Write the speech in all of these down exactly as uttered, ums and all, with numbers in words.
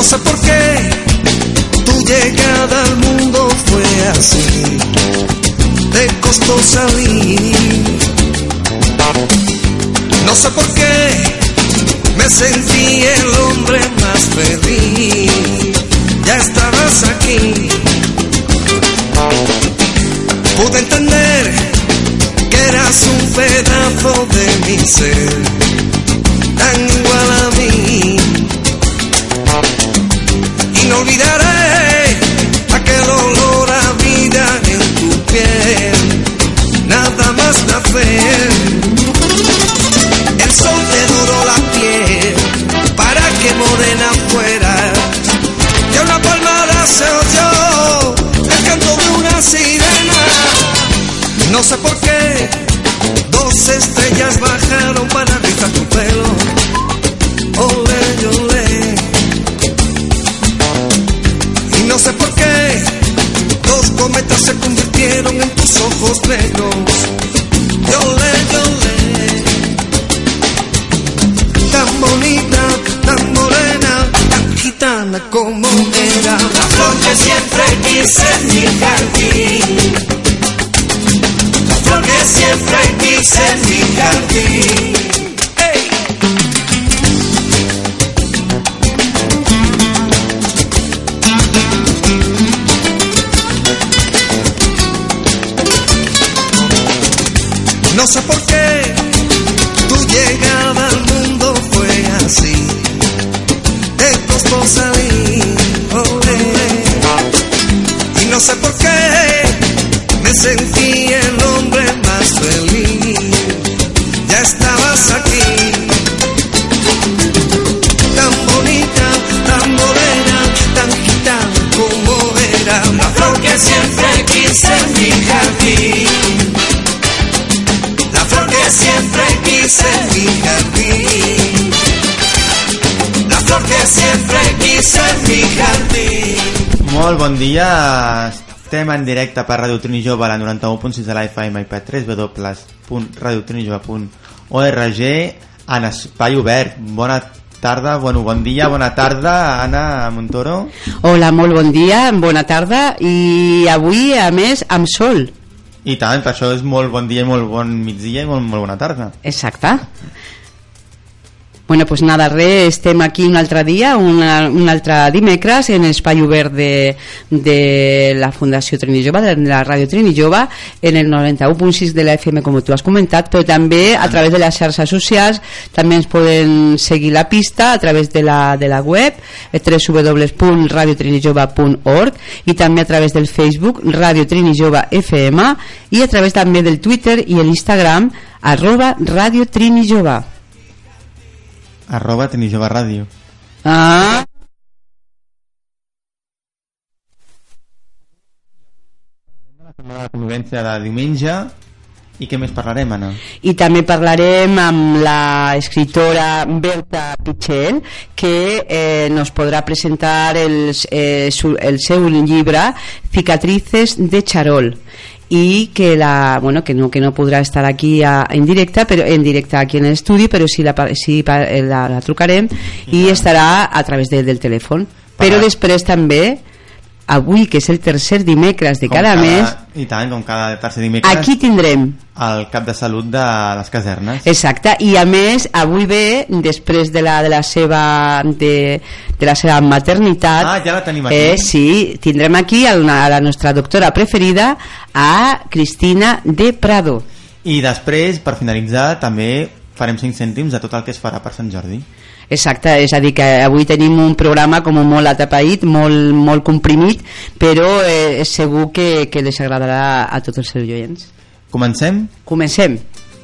sé por qué tu llegada al mundo fue así, te costó salir. No sé por qué me sentí el hombre más feliz. Ya estabas aquí. Pude entender que eras un pedazo de mi ser, tan igual a mí. Y no olvidaré aquel olor a vida en tu piel, nada más nacer. El sol te duró la piel para que morena fuera. Y a una palmada se oyó el canto de una sirena. No sé por qué dos estrellas bajaron para rizar tu pelo. Olé, olé. Y no sé por qué dos cometas se convirtieron en tus ojos negros. Olé, olé. Tan bonita, tan morena, tan gitana como era. La flor que siempre quise en mi jardín. La flor que siempre quise en mi jardín. ¡Ey! No sé por qué tu llegada al mundo fue así, te costó salir. Oh, eh. Y no sé por qué me sentí el hombre más feliz. Ya estabas aquí, tan bonita, tan morena, tan gitana como era. La flor que siempre quise en mi jardín. La flor que siempre quise en mi jardín. La flor que siempre quise en mi jardín. Molt bon dia, estem en directe per Radio Trini Jove a la noranta-u punt sis de la F M i per w w w punt radio trini jove punt org en espai obert. Bona tarda, bueno, bon dia, bona tarda, Anna Montoro. Hola, molt bon dia, bona tarda, i avui, a més, amb sol. I tant, per això és molt bon dia i molt bon migdia i molt, molt bona tarda. Exacte. Bueno, pues nada, res, estem aquí un altre dia, una, un altre dimecres en l'espai obert de, de la Fundació Trini Jove, de la Ràdio Trini Jove, en el noranta-u punt sis de la F M, com tu has comentat, però també a través de les xarxes socials. També ens poden seguir la pista a través de la, de la web w w w punt radio trini jove punt org i també a través del Facebook Ràdio Trini Jove F M i a través també del Twitter i l'Instagram arroba Ràdio Trini Jove. Arroba Trini Jove Ràdio. Ah. De la convivència de diumenge. I què més parlarem, Anna? I també parlarem amb la escritora Berta Pichel, que eh, nos podrà presentar el, eh, su, el seu llibre Cicatrices de Charol, i que la bueno que no que no podrà estar aquí a, en directe però en directe aquí en l'estudi, però sí la, sí la, la trucarem i estarà a través de, del telèfon. Però després també avui, que és el tercer dimecres de cada, cada mes, i tant, com cada tercer dimecres, aquí tindrem el cap de salut de les casernes. Exacte, i a més avui ve després de la, de la seva de, de la seva maternitat. Ah, ja la tenim aquí. Eh, sí, tindrem aquí a la, a la nostra doctora preferida, a Cristina de Prado. I després, per finalitzar, també farem cinc cèntims de tot el que es farà per Sant Jordi. Exacte, és a dir que avui tenim un programa com molt atapeït, molt, molt comprimit, però eh, és segur que, que les agradarà a tots els oients. Comencem? Comencem.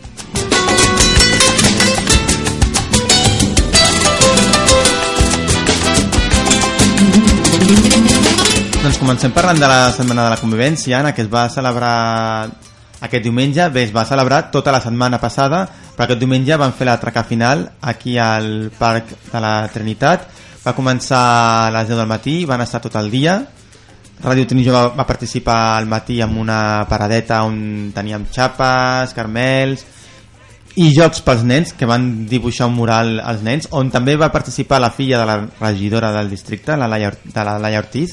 Doncs comencem parlant de la Setmana de la Convivència, Anna, que es va celebrar aquest diumenge. Bé, es va celebrar tota la setmana passada, però aquest diumenge van fer la traca final aquí al Parc de la Trinitat. Va començar a les deu del matí, van estar tot el dia. Ràdio Trini Jove va participar al matí amb una paradeta on teníem xapes, carmels i Jocs pels nens, que van dibuixar un mural als nens, on també va participar la filla de la regidora del districte, la Laia, de la Laia Ortiz,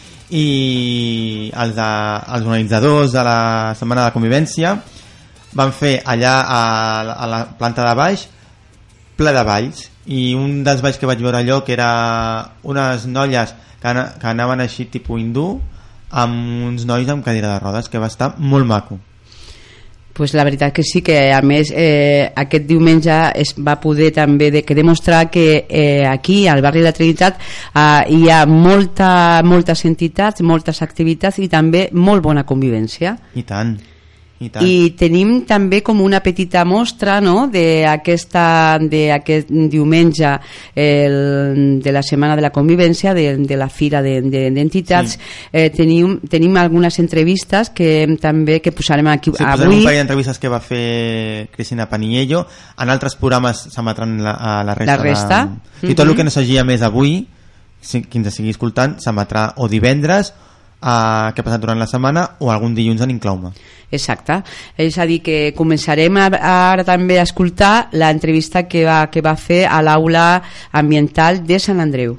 i els, de, els organitzadors de la Setmana de la Convivència van fer allà a, a la planta de baix ple de balls, i un dels balls que vaig veure allò, que era unes noies que, ana, que anaven així tipus hindú, amb uns nois amb cadira de rodes, que va estar molt maco. Pues la veritat que sí, que a més eh, aquest diumenge es va poder també de, que demostrar que eh, aquí al barri de la Trinitat eh, hi ha molta, moltes entitats, moltes activitats i també molt bona convivència. I tant. I, tant. I tenim també com una petita mostra, no?, d'aquest diumenge el, de la Setmana de la Convivència, de, de la Fira d'Entitats. De, de, sí. eh, tenim, tenim algunes entrevistes que també que posarem aquí sí, avui. Posarem un parell d'entrevistes que va fer Cristina Paniello. En altres programes s'emetran la, a la resta. La resta. De... Mm-hmm. I tot el que no s'hagi més avui, si, qui ens estigui escoltant, s'emetrà o divendres, Uh, que ha passat durant la setmana, o algun dilluns en Inclaume. Exacte, és a dir que començarem a, ara també a escoltar l'entrevista que va, que va fer a l'aula ambiental de Sant Andreu.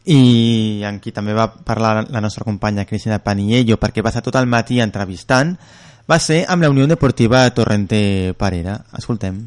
i en qui també va parlar la nostra companya Cristina Paniello, perquè va estar tot el matí entrevistant, va ser amb la Unió Deportiva Torrente Parera. Escoltem.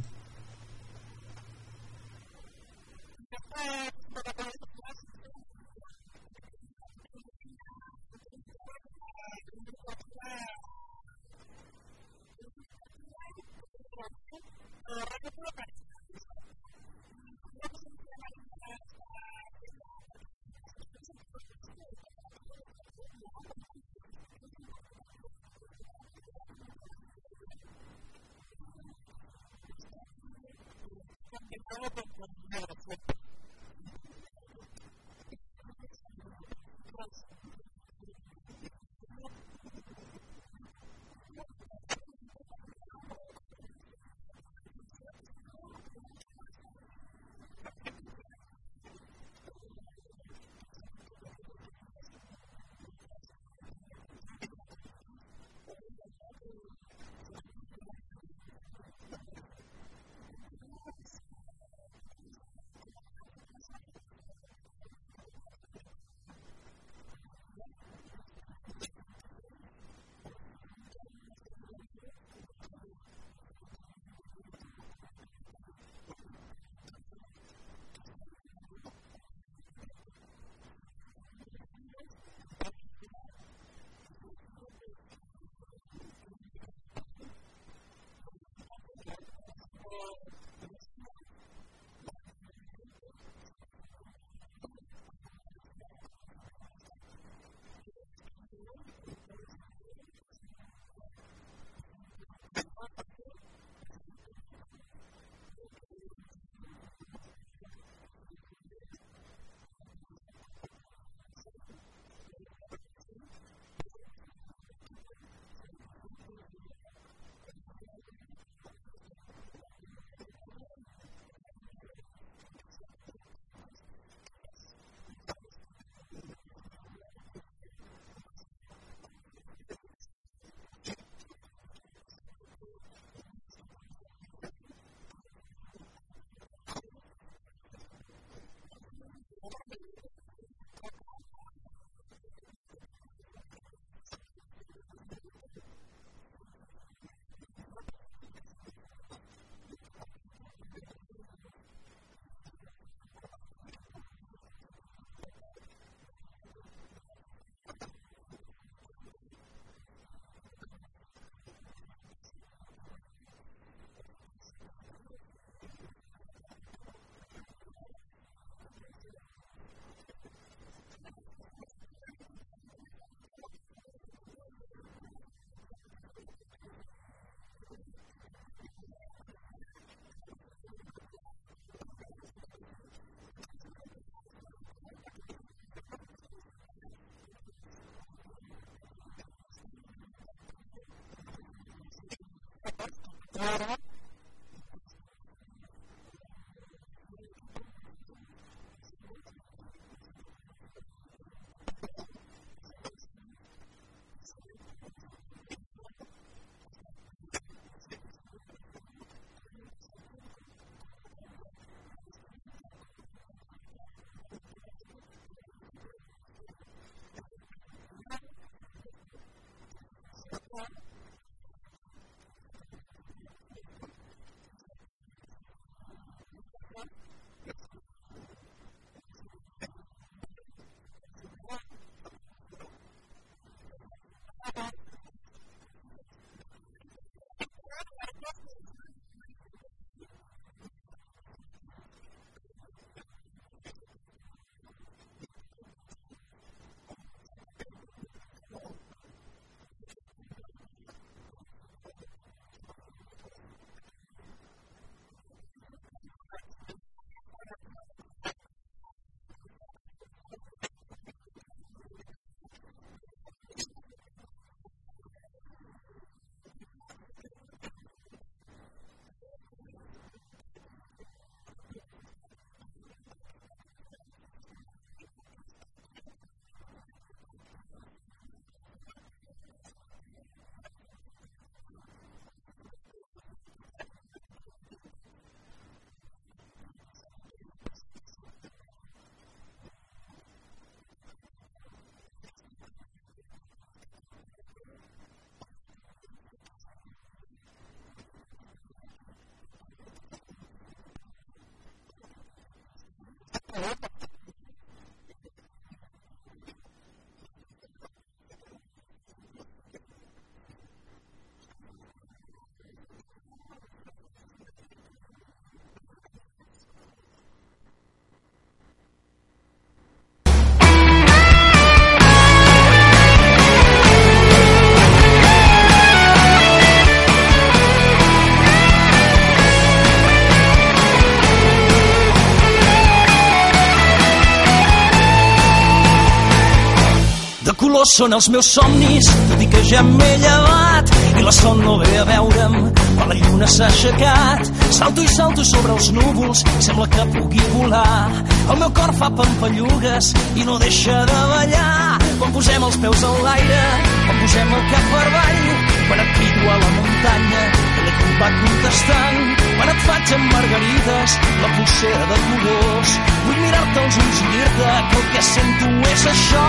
Colors són els meus somnis, tot i que ja m'he llevat i la son no ve a veure'm quan la lluna s'ha aixecat. Salto i salto sobre els núvols, sembla que pugui volar. El meu cor fa pampallugues i no deixa de ballar. Quan posem els peus en l'aire, quan posem el cap per avall, quan et crido a la muntanya, ella et va contestant. Quan et faig amb margarides, la pulsera de colors, vull mirar-te als ulls i dir-te que el que sento és això.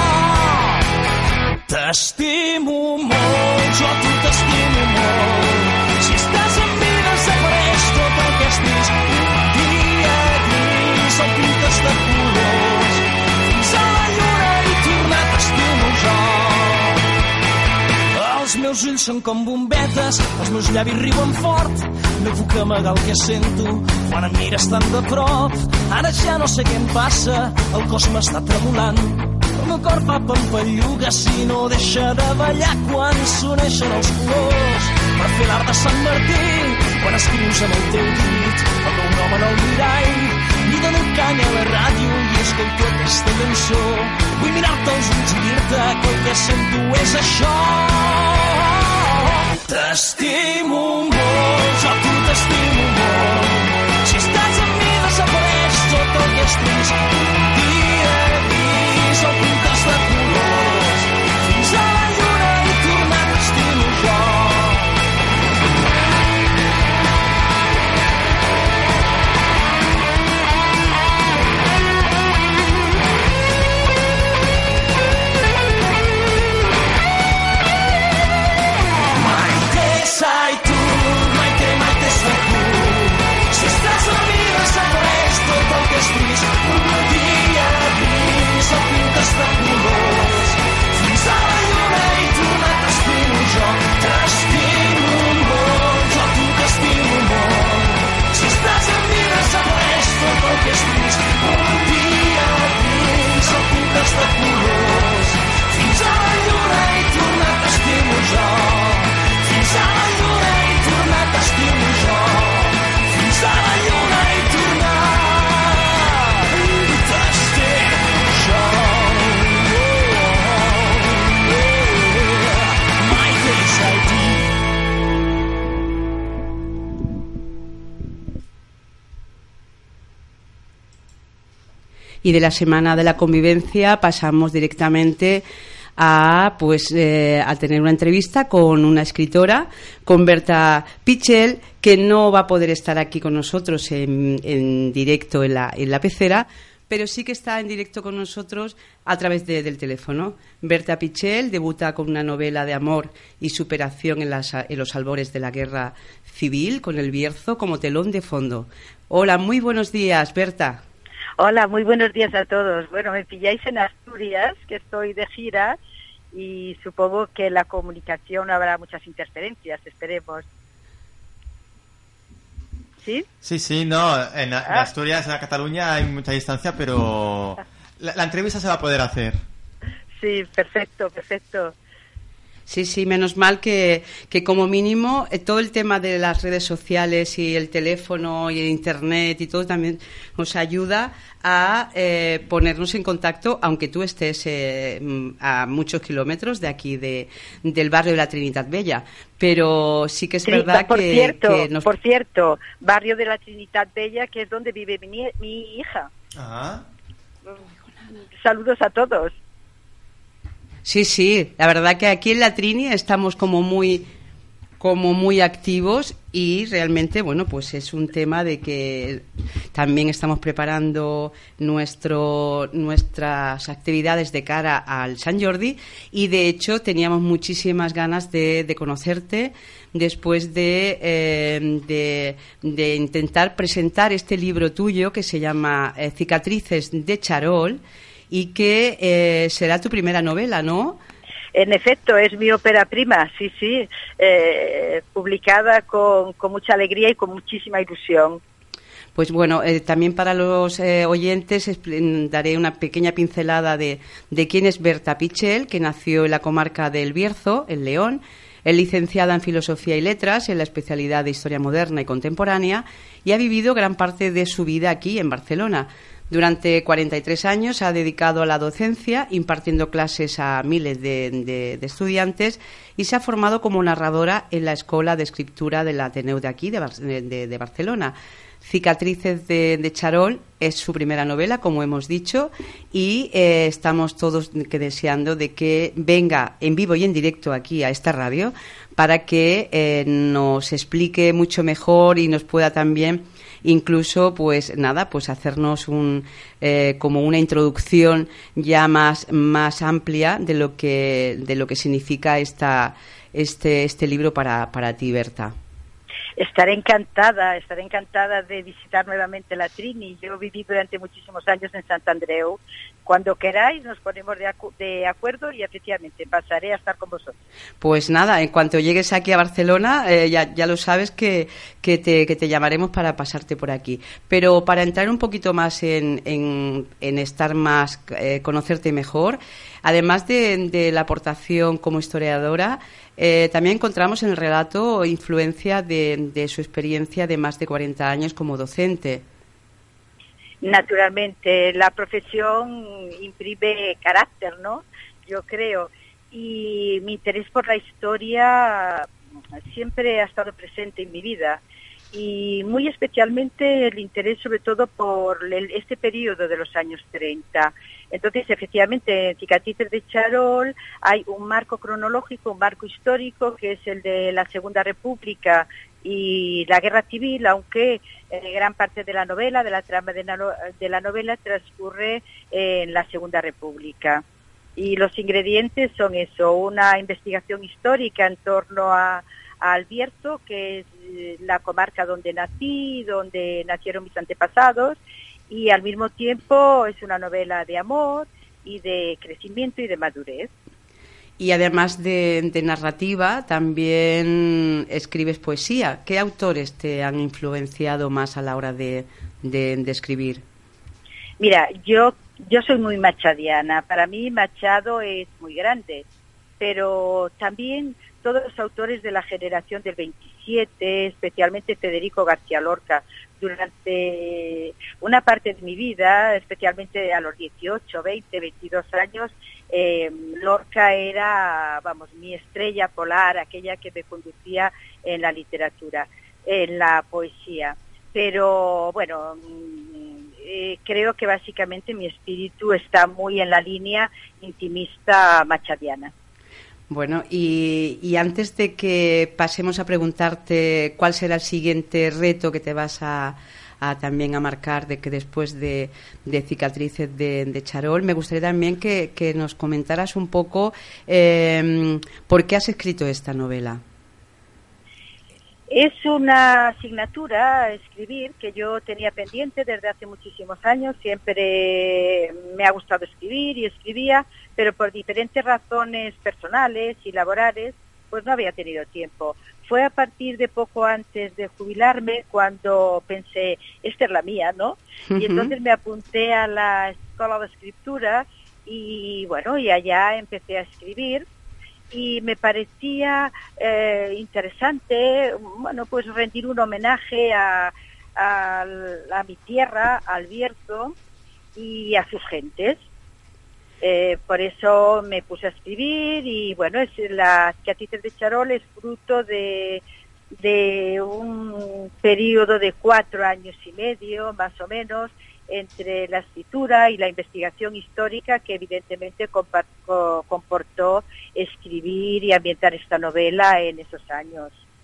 T'estimo molt, jo a tu t'estimo molt. Si estàs amb mi desapareix tot el que és trist. Un dia gris el pintes de colors. Fins a la lluna i tornar t'estimo jo. Els meus ulls són com bombetes, els meus llavis riuen fort. No puc amagar el que sento quan em mires tan de prop. Ara ja no sé què em passa, el cos m'està tremolant. El meu cor fa pampallugues i no deixa de ballar quan s'uneixen els colors per fer l'art de Sant Martí. Quan escrius amb el teu dit el meu nom en el mirall, li dono canya a la ràdio i escolto aquesta cançó. Vull mirar-te als ulls i dir-te que el que sento és això. T'estimo molt, jo a tu t'estimo molt. Si estàs amb mi desapareix tot el que és trist. Un dia gris el pintes de colors. Fins a la lluna i tornar t'estimo jo. Sai tu, Maite, Maite, sai tu. Si estàs amb mi desapareix tot el que és trist. Un dia gris el pintes de colors. Fins a la lluna i tornar t'estimo jo. T'estimo molt, jo a tu t'estimo molt. Si estàs amb mi desapareix tot el que és trist. Un dia gris el pintes de colors. Fins a la lluna i tornar t'estimo jo. Fins a la lluna i tornar t'estimo jo. Fins a la lluna i tornar t'estimo jo. Maite Saidi. Y de la Semana de la Convivencia pasamos directamente a pues eh, a tener una entrevista con una escritora, con Berta Pichel, que no va a poder estar aquí con nosotros en, en directo en la, en la pecera, pero sí que está en directo con nosotros a través de, del teléfono. Berta Pichel debuta con una novela de amor y superación en, las, en los albores de la guerra civil, con El Bierzo como telón de fondo. Hola, muy buenos días, Berta. Hola, muy buenos días a todos. Bueno, me pilláis en Asturias, que estoy de gira, y supongo que la comunicación habrá muchas interferencias, esperemos. ¿Sí? Sí, sí, no, en, en ah. Asturias, en Cataluña hay mucha distancia, pero la, la entrevista se va a poder hacer. Sí, perfecto, perfecto. Sí, sí, menos mal que, que como mínimo eh, todo el tema de las redes sociales y el teléfono y el internet y todo también nos ayuda a eh, ponernos en contacto, aunque tú estés eh, a muchos kilómetros de aquí, de, del barrio de la Trinidad Bella. Pero sí que es sí, verdad por que, cierto, que nos... Por cierto, barrio de la Trinidad Bella, que es donde vive mi, mi hija. Ajá. Saludos a todos. Sí, sí, la verdad que aquí en la Trini estamos como muy como muy activos, y realmente, bueno, pues es un tema de que también estamos preparando nuestro, nuestras actividades de cara al Sant Jordi, y de hecho teníamos muchísimas ganas de, de conocerte después de, eh, de, de intentar presentar este libro tuyo que se llama eh, Cicatrices de Charol, y que eh, será tu primera novela, ¿no? En efecto, es mi ópera prima, sí, sí, eh, publicada con, con mucha alegría y con muchísima ilusión. Pues bueno, eh, también para los eh, oyentes daré una pequeña pincelada de, de quién es Berta Pichel, que nació en la comarca del Bierzo, en León. Es licenciada en Filosofía y Letras, en la especialidad de Historia Moderna y Contemporánea, y ha vivido gran parte de su vida aquí, en Barcelona. Durante cuarenta y tres años se ha dedicado a la docencia, impartiendo clases a miles de, de, de estudiantes, y se ha formado como narradora en la Escuela de Escritura del Ateneu de aquí, de, de, de Barcelona. Cicatrices de, de Charol es su primera novela, como hemos dicho, y eh, estamos todos que deseando de que venga en vivo y en directo aquí a esta radio para que eh, nos explique mucho mejor y nos pueda también incluso, pues nada, pues hacernos un eh, como una introducción ya más más amplia de lo que de lo que significa esta este este libro para para ti, Berta. Estaré encantada, estaré encantada de visitar nuevamente la Trini. Yo viví durante muchísimos años en Sant Andreu. Cuando queráis nos ponemos de, acu de acuerdo y efectivamente pasaré a estar con vosotros. Pues nada, en cuanto llegues aquí a Barcelona, eh, ya, ya lo sabes que, que, te, que te llamaremos para pasarte por aquí. Pero para entrar un poquito más en, en, en estar más, eh, conocerte mejor, además de, de la aportación como historiadora, eh, también encontramos en el relato influencia de, de su experiencia de más de cuarenta años como docente. Naturalmente, la profesión imprime carácter, ¿no? Yo creo. Y mi interés por la historia siempre ha estado presente en mi vida. Y muy especialmente el interés sobre todo por el, este periodo de los años treinta. Entonces, efectivamente, en Cicatrices de Charol hay un marco cronológico, un marco histórico, que es el de la Segunda República y la Guerra Civil, aunque eh, gran parte de la novela, de la trama de, no, de la novela, transcurre eh, en la Segunda República. Y los ingredientes son eso, una investigación histórica en torno a, a Albierzo, que es la comarca donde nací, donde nacieron mis antepasados, y al mismo tiempo es una novela de amor y de crecimiento y de madurez. Y además de, de narrativa, también escribes poesía. ¿Qué autores te han influenciado más a la hora de, de, de escribir? Mira, yo, yo soy muy machadiana. Para mí Machado es muy grande, pero también todos los autores de la generación del veintisiete, especialmente Federico García Lorca. Durante una parte de mi vida, especialmente a los dieciocho, veinte, veintidós años, eh, Lorca era, vamos, mi estrella polar, aquella que me conducía en la literatura, en la poesía. Pero, bueno, eh, creo que básicamente mi espíritu está muy en la línea intimista machadiana. Bueno, y, y antes de que pasemos a preguntarte cuál será el siguiente reto que te vas a, a también a marcar de que después de, de Cicatrices de, de Charol, me gustaría también que, que nos comentaras un poco eh, por qué has escrito esta novela. Es una asignatura, escribir, que yo tenía pendiente desde hace muchísimos años. Siempre me ha gustado escribir y escribía, pero por diferentes razones personales y laborales, pues no había tenido tiempo. Fue a partir de poco antes de jubilarme cuando pensé, esta es la mía, ¿no? Uh-huh. Y entonces me apunté a la Escuela de Escritura y, bueno, y allá empecé a escribir. Y me parecía eh, interesante, bueno, pues rendir un homenaje a, a, a mi tierra, al Bierzo y a sus gentes. Eh, por eso me puse a escribir y, bueno, es la Cicatrices de Charol es fruto de, de un periodo de cuatro años y medio, más o menos, entre la escritura y la investigación histórica que evidentemente comportó escribir y ambientar esta novela en esos años.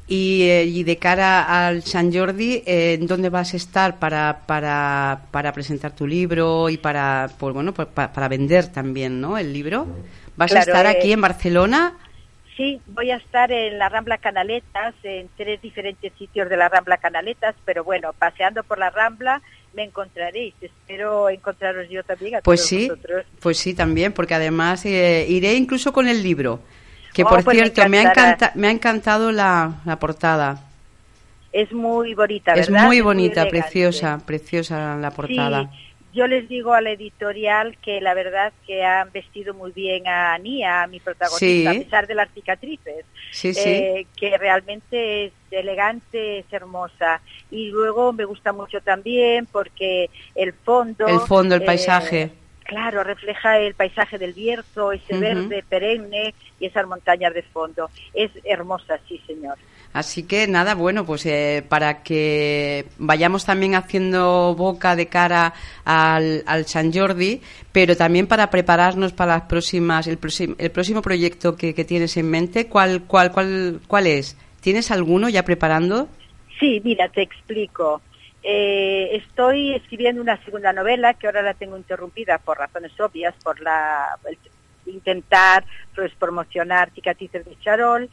Y, eh, y de cara al Sant Jordi, eh, ¿dónde vas a estar para, para, para presentar tu libro y para, pues bueno, pues para, para vender también, ¿no? El libro. ¿Vas Claro, a estar eh, aquí en Barcelona? Sí, voy a estar en la Rambla Canaletas, en tres diferentes sitios de la Rambla Canaletas, pero bueno, paseando por la Rambla me encontraréis. Espero encontraros yo también a Pues todos sí, vosotros. pues sí, también, porque además eh, iré incluso con el libro. Que Oh, por pues me cierto, me, ha encantará. encanta, me ha encantado la, la portada. Es muy bonita, Es ¿verdad? muy bonita, elegante. preciosa, preciosa la portada. Sí, yo les digo a la editorial que la verdad que han vestido muy bien a Ania, a mi protagonista, Sí. a pesar de las cicatrices. Sí, sí. Eh, que realmente es elegante, es hermosa. Y luego me gusta mucho también porque el fondo... El fondo, el eh, paisaje. Claro, refleja el paisaje del Bierzo, ese Ujú. verde perenne y esas montañas de fondo. Es hermosa, sí, señor. Así que nada, bueno, pues eh, para que vayamos también haciendo boca de cara al, al Sant Jordi, pero también para prepararnos para las próximas, el, próximo, el próximo proyecto que, que tienes en mente, ¿cuál, cuál, cuál, cuál es? ¿Tienes alguno ya preparando? Sí, mira, te explico. Eh, estoy escribiendo una segunda novela que ahora la tengo interrumpida por razones obvias, por la el intentar pues, promocionar Cicatrices de Charol.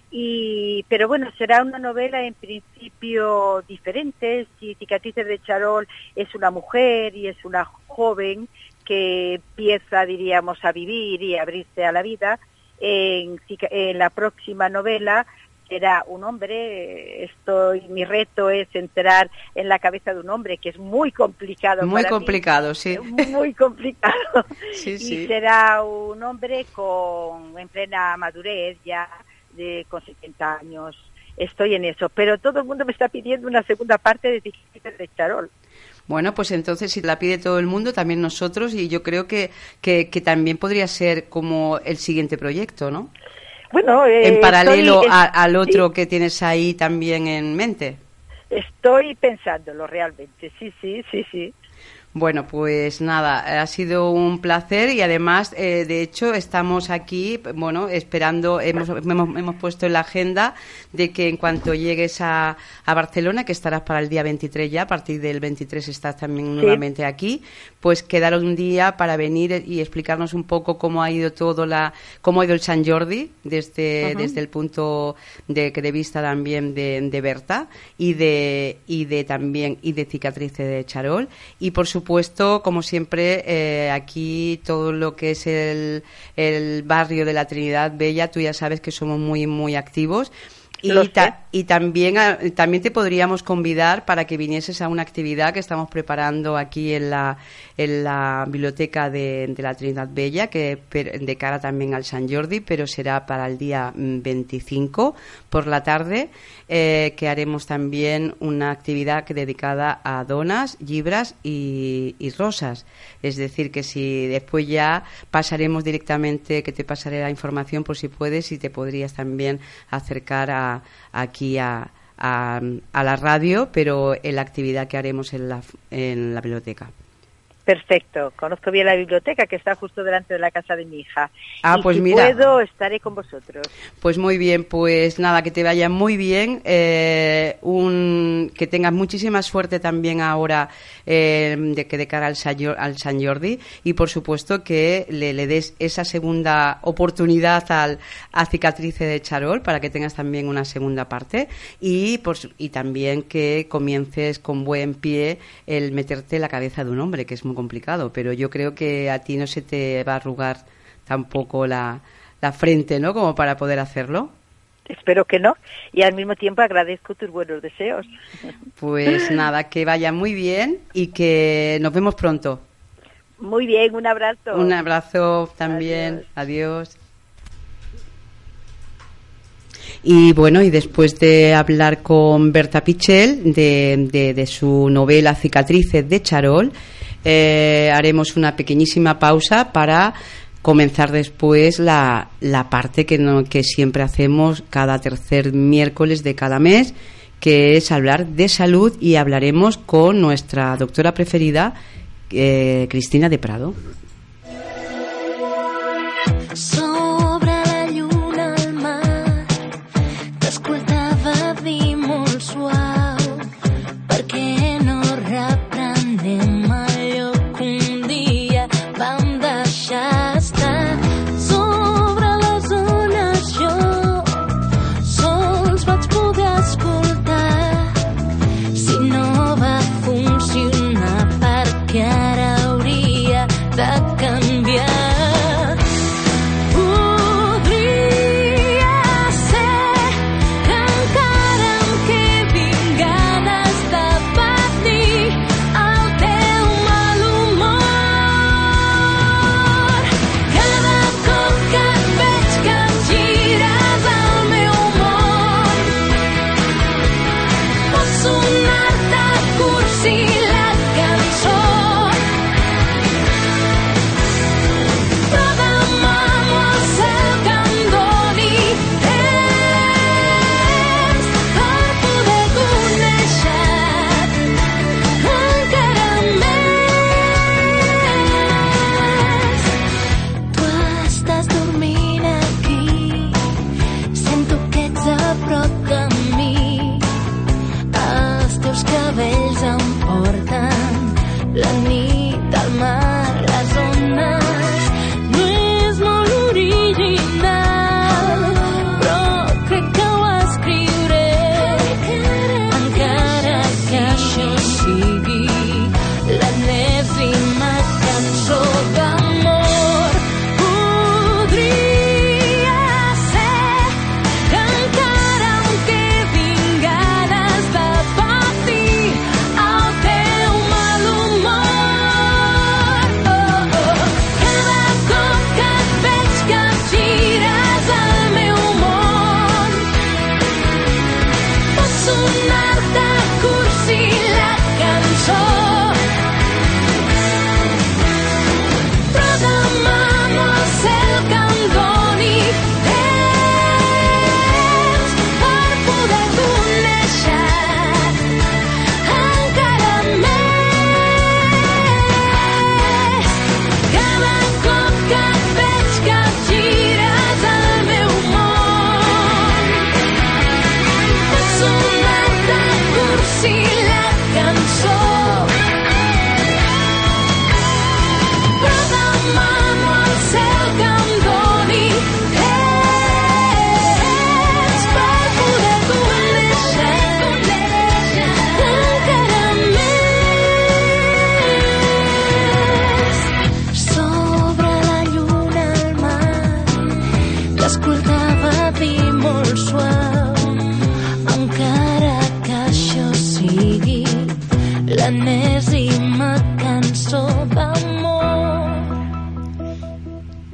Y, pero bueno, será una novela en principio diferente. Si Cicatrices de Charol es una mujer y es una joven que empieza, diríamos, a vivir y a abrirse a la vida, en, en la próxima novela será un hombre. Estoy, mi reto es entrar en la cabeza de un hombre, que es muy complicado. Muy para complicado, mí. sí. Muy complicado. Sí, Y sí. será un hombre con en plena madurez ya, de con setenta años. Estoy en eso, pero todo el mundo me está pidiendo una segunda parte de Cicatrices de Charol. Bueno, pues entonces si la pide todo el mundo, también nosotros, y yo creo que, que, que también podría ser como el siguiente proyecto, ¿no? Bueno, eh, En paralelo estoy, a- al otro sí, que tienes ahí también en mente. estoy pensándolo realmente, sí, sí, sí, sí. Bueno, pues nada, ha sido un placer y además, eh, de hecho, estamos aquí, bueno, esperando, hemos, hemos, hemos puesto en la agenda de que en cuanto llegues a, a Barcelona, que estarás para el día veintitrés ya, a partir del veintitrés estás también Sí. nuevamente aquí, pues quedar un día para venir y explicarnos un poco cómo ha ido todo la, cómo ha ido el Sant Jordi desde, Ujú. desde el punto de, de vista también de, de Berta y de, y de también, y de Cicatrices de Charol, y por supuesto supuesto, como siempre, eh, aquí todo lo que es el, el barrio de la Trinidad Bella, tú ya sabes que somos muy, muy activos. Y, Lo sé. ta- y también, a- también te podríamos convidar para que vinieses a una actividad que estamos preparando aquí en la, en la biblioteca de, de la Trinidad Bella, que per- de cara también al Sant Jordi, pero será para el día mm, veinticinco por la tarde, eh, que haremos también una actividad que dedicada a donas, llibres y, y rosas. Es decir, que si después ya pasaremos directamente, que te pasaré la información por si puedes, y te podrías también acercar a, aquí a, a, a la radio, pero en la actividad que haremos en la, en la biblioteca. Perfecto, conozco bien la biblioteca que está justo delante de la casa de mi hija. Ah, y pues si mira. puedo, estaré con vosotros. Pues muy bien, pues nada, que te vaya muy bien, eh, un, que tengas muchísima suerte también ahora eh, de que de cara al Sant Jor- al Sant Jordi, y por supuesto que le, le des esa segunda oportunidad al, a Cicatrices de Charol para que tengas también una segunda parte, y, por, su- y también que comiences con buen pie el meterte en la cabeza de un hombre, que es muy complicado, pero yo creo que a ti no se te va a arrugar tampoco la, la frente, ¿no? Como para poder hacerlo. Espero que no. Y al mismo tiempo agradezco tus buenos deseos. Pues nada, que vaya muy bien y que nos vemos pronto. Muy bien, un abrazo. Un abrazo también. Adiós. Y bueno, y después de hablar con Berta Pichel de, de, de su novela Cicatrices de Charol, eh, haremos una pequeñísima pausa para comenzar después la, la parte que, no, que siempre hacemos cada tercer miércoles de cada mes, que es hablar de salud, y hablaremos con nuestra doctora preferida, eh, Cristina de Prado. Sobre la lluna al mar t'escoltava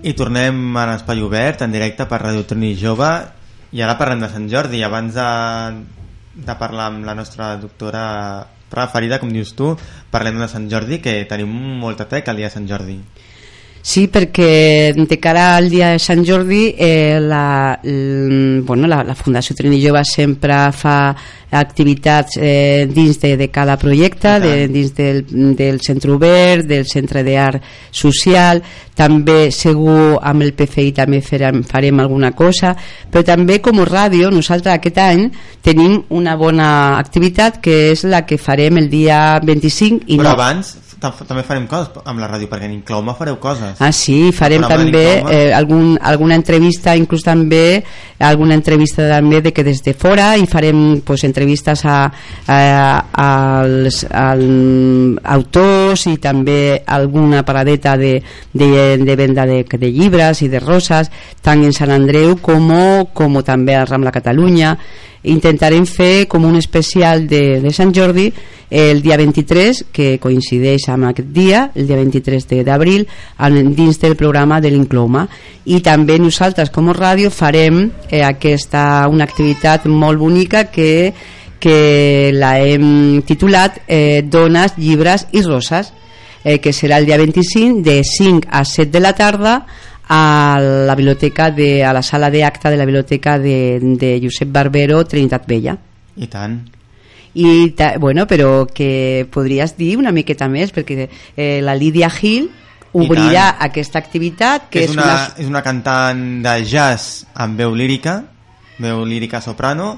I tornem a l'Espai Obert, en directe per Radio Trini Jove, i ara parlem de Sant Jordi. Abans de, de parlar amb la nostra doctora preferida, com dius tu, parlem de Sant Jordi, que tenim molta teca el dia de Sant Jordi. Sí, perquè de cara al dia de Sant Jordi eh, la, l, bueno, la, la Fundació Trini Jove sempre fa activitats eh, dins de, de cada projecte, de, dins del, del Centre Obert, del Centre d'Art Social. També segur amb el P F I també farem, farem alguna cosa, però també com a ràdio nosaltres aquest any tenim una bona activitat que és la que farem el dia vint-i-cinc i però no. abans també farem coses amb la ràdio, perquè en Inclouma fareu coses. Ah, sí, farem també eh, algun, alguna entrevista, inclús també alguna entrevista també de que des de fora, i farem pues, entrevistes a, a, als, als autors i també alguna paradeta de, de, de venda de, de llibres i de roses, tant en Sant Andreu com, com també al Rambla Catalunya. Intentarem fer com un especial de, de Sant Jordi el dia vint-i-tres, que coincideix amb aquest dia, el dia vint-i-tres d'abril, dins del programa de l'Inclouma. I també nosaltres com a ràdio farem eh, aquesta, una activitat molt bonica que, que la hem titulat eh, Dones, Llibres i Roses, eh, que serà el dia vint-i-cinc de cinc a set de la tarda a la biblioteca de, a la sala d'acte de la biblioteca de, de Josep Barbero, Trinitat Vella. I tant. I ta, bueno, però que podries dir una miqueta més, perquè eh, la Lídia Gil obrirà aquesta activitat, que és, és, una, una... és una cantant de jazz amb veu lírica, veu lírica soprano,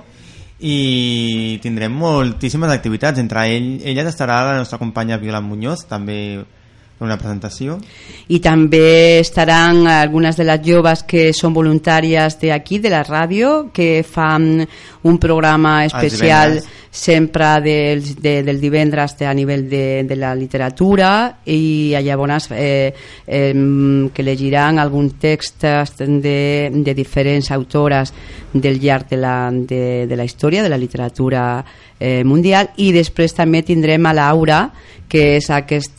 i tindrem moltíssimes activitats. Entre ell, elles estarà la nostra companya Violant Muñoz, també una presentació, i també estaran algunes de les joves que són voluntàries d'aquí de la ràdio, que fan un programa especial sempre del, de, del divendres a nivell de, de la literatura, i llavors eh, eh, que llegiran alguns textos de, de diferents autores del llarg de la, de, de la història de la literatura eh, mundial. I després també tindrem a Laura, que és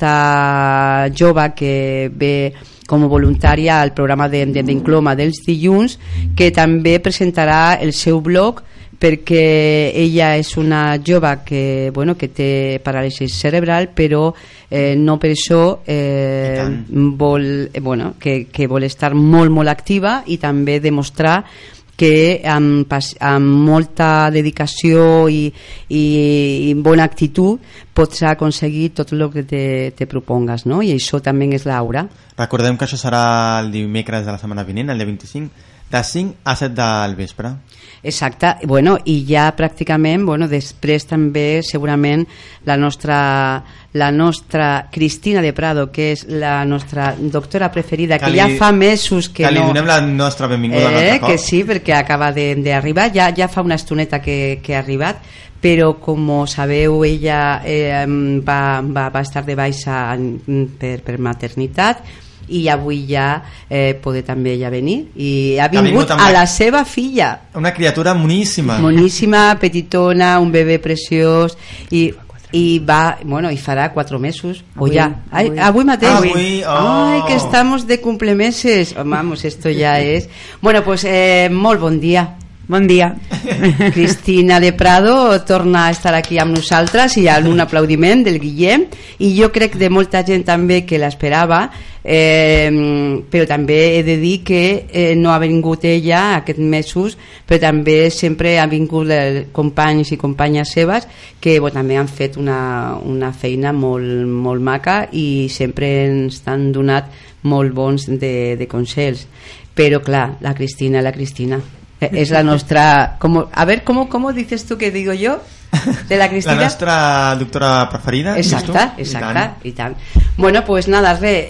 aquesta jove que ve com a voluntària al programa d'Inclouma de, de, dels dilluns, que també presentarà el seu blog, perquè ella és una jove que, bueno, que té paràlisi cerebral, però eh, no per això eh, vol, eh, bueno, que, que vol estar molt, molt activa, i també demostrar que amb, amb molta dedicació i, i, i bona actitud pots aconseguir tot el que te, te propongues, no? I això també és Laura. Recordem que això serà el dimecres de la setmana vinent, el dia vint-i-cinc, de cinc a set del vespre. Exacte, bueno, i ja pràcticament, bueno, després també segurament la nostra, la nostra Cristina de Prado, que és la nostra doctora preferida, que, que li, ja fa mesos que, que no... Que li donem la nostra benvinguda eh, un altre cop. Que sí, perquè acaba d'arribar, ja, ja fa una estoneta que, que ha arribat, però com sabeu ella eh, va, va, va estar de baixa per, per maternitat, i avui ja eh, poder també ella venir, i ha vingut, ha vingut a la seva filla, una criatura moníssima moníssima, petitona, un bebè preciós, i, i va, bueno, i farà quatre mesos o ja, avui, Ay, avui mateix avui, oh. Ay, que estamos de cumplemeses, vamos, esto ya es bueno, pues eh, molt bon dia. Bon dia. Cristina de Prado torna a estar aquí amb nosaltres, i amb un aplaudiment del Guillem, i jo crec de molta gent també que l'esperava, eh, però també he de dir que eh, no ha vingut ella aquests mesos, però també sempre ha vingut companys i companyes seves que bueno, també han fet una, una feina molt, molt maca, i sempre ens han donat molt bons de, de consells. Però clar, la Cristina, la Cristina es la nuestra, como, a ver, ¿cómo, ¿cómo dices tú que digo yo? De la Cristina. La nostra doctora preferida. Exacta, exacta, i tant. Bueno, pues nada, re,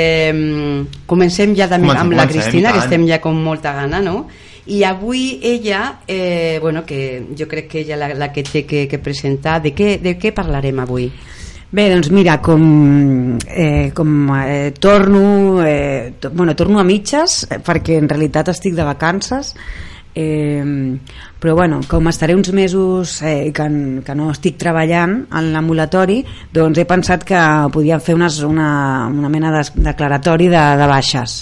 eh, comencem ja també comencem, amb la Cristina, que estem ja con molta gana, no? I avui ella, eh, bueno, que jo crec que ella la, la que té que, que presentar, de què, de què parlarem avui? Bé, doncs mira, com, eh, com eh, torno, eh, to, bueno, torno a mitges, eh, perquè en realitat estic de vacances, eh, però bueno, com estaré uns mesos eh, que, que no estic treballant en l'ambulatori, doncs he pensat que podíem fer unes, una, una mena de declaratori de, de baixes,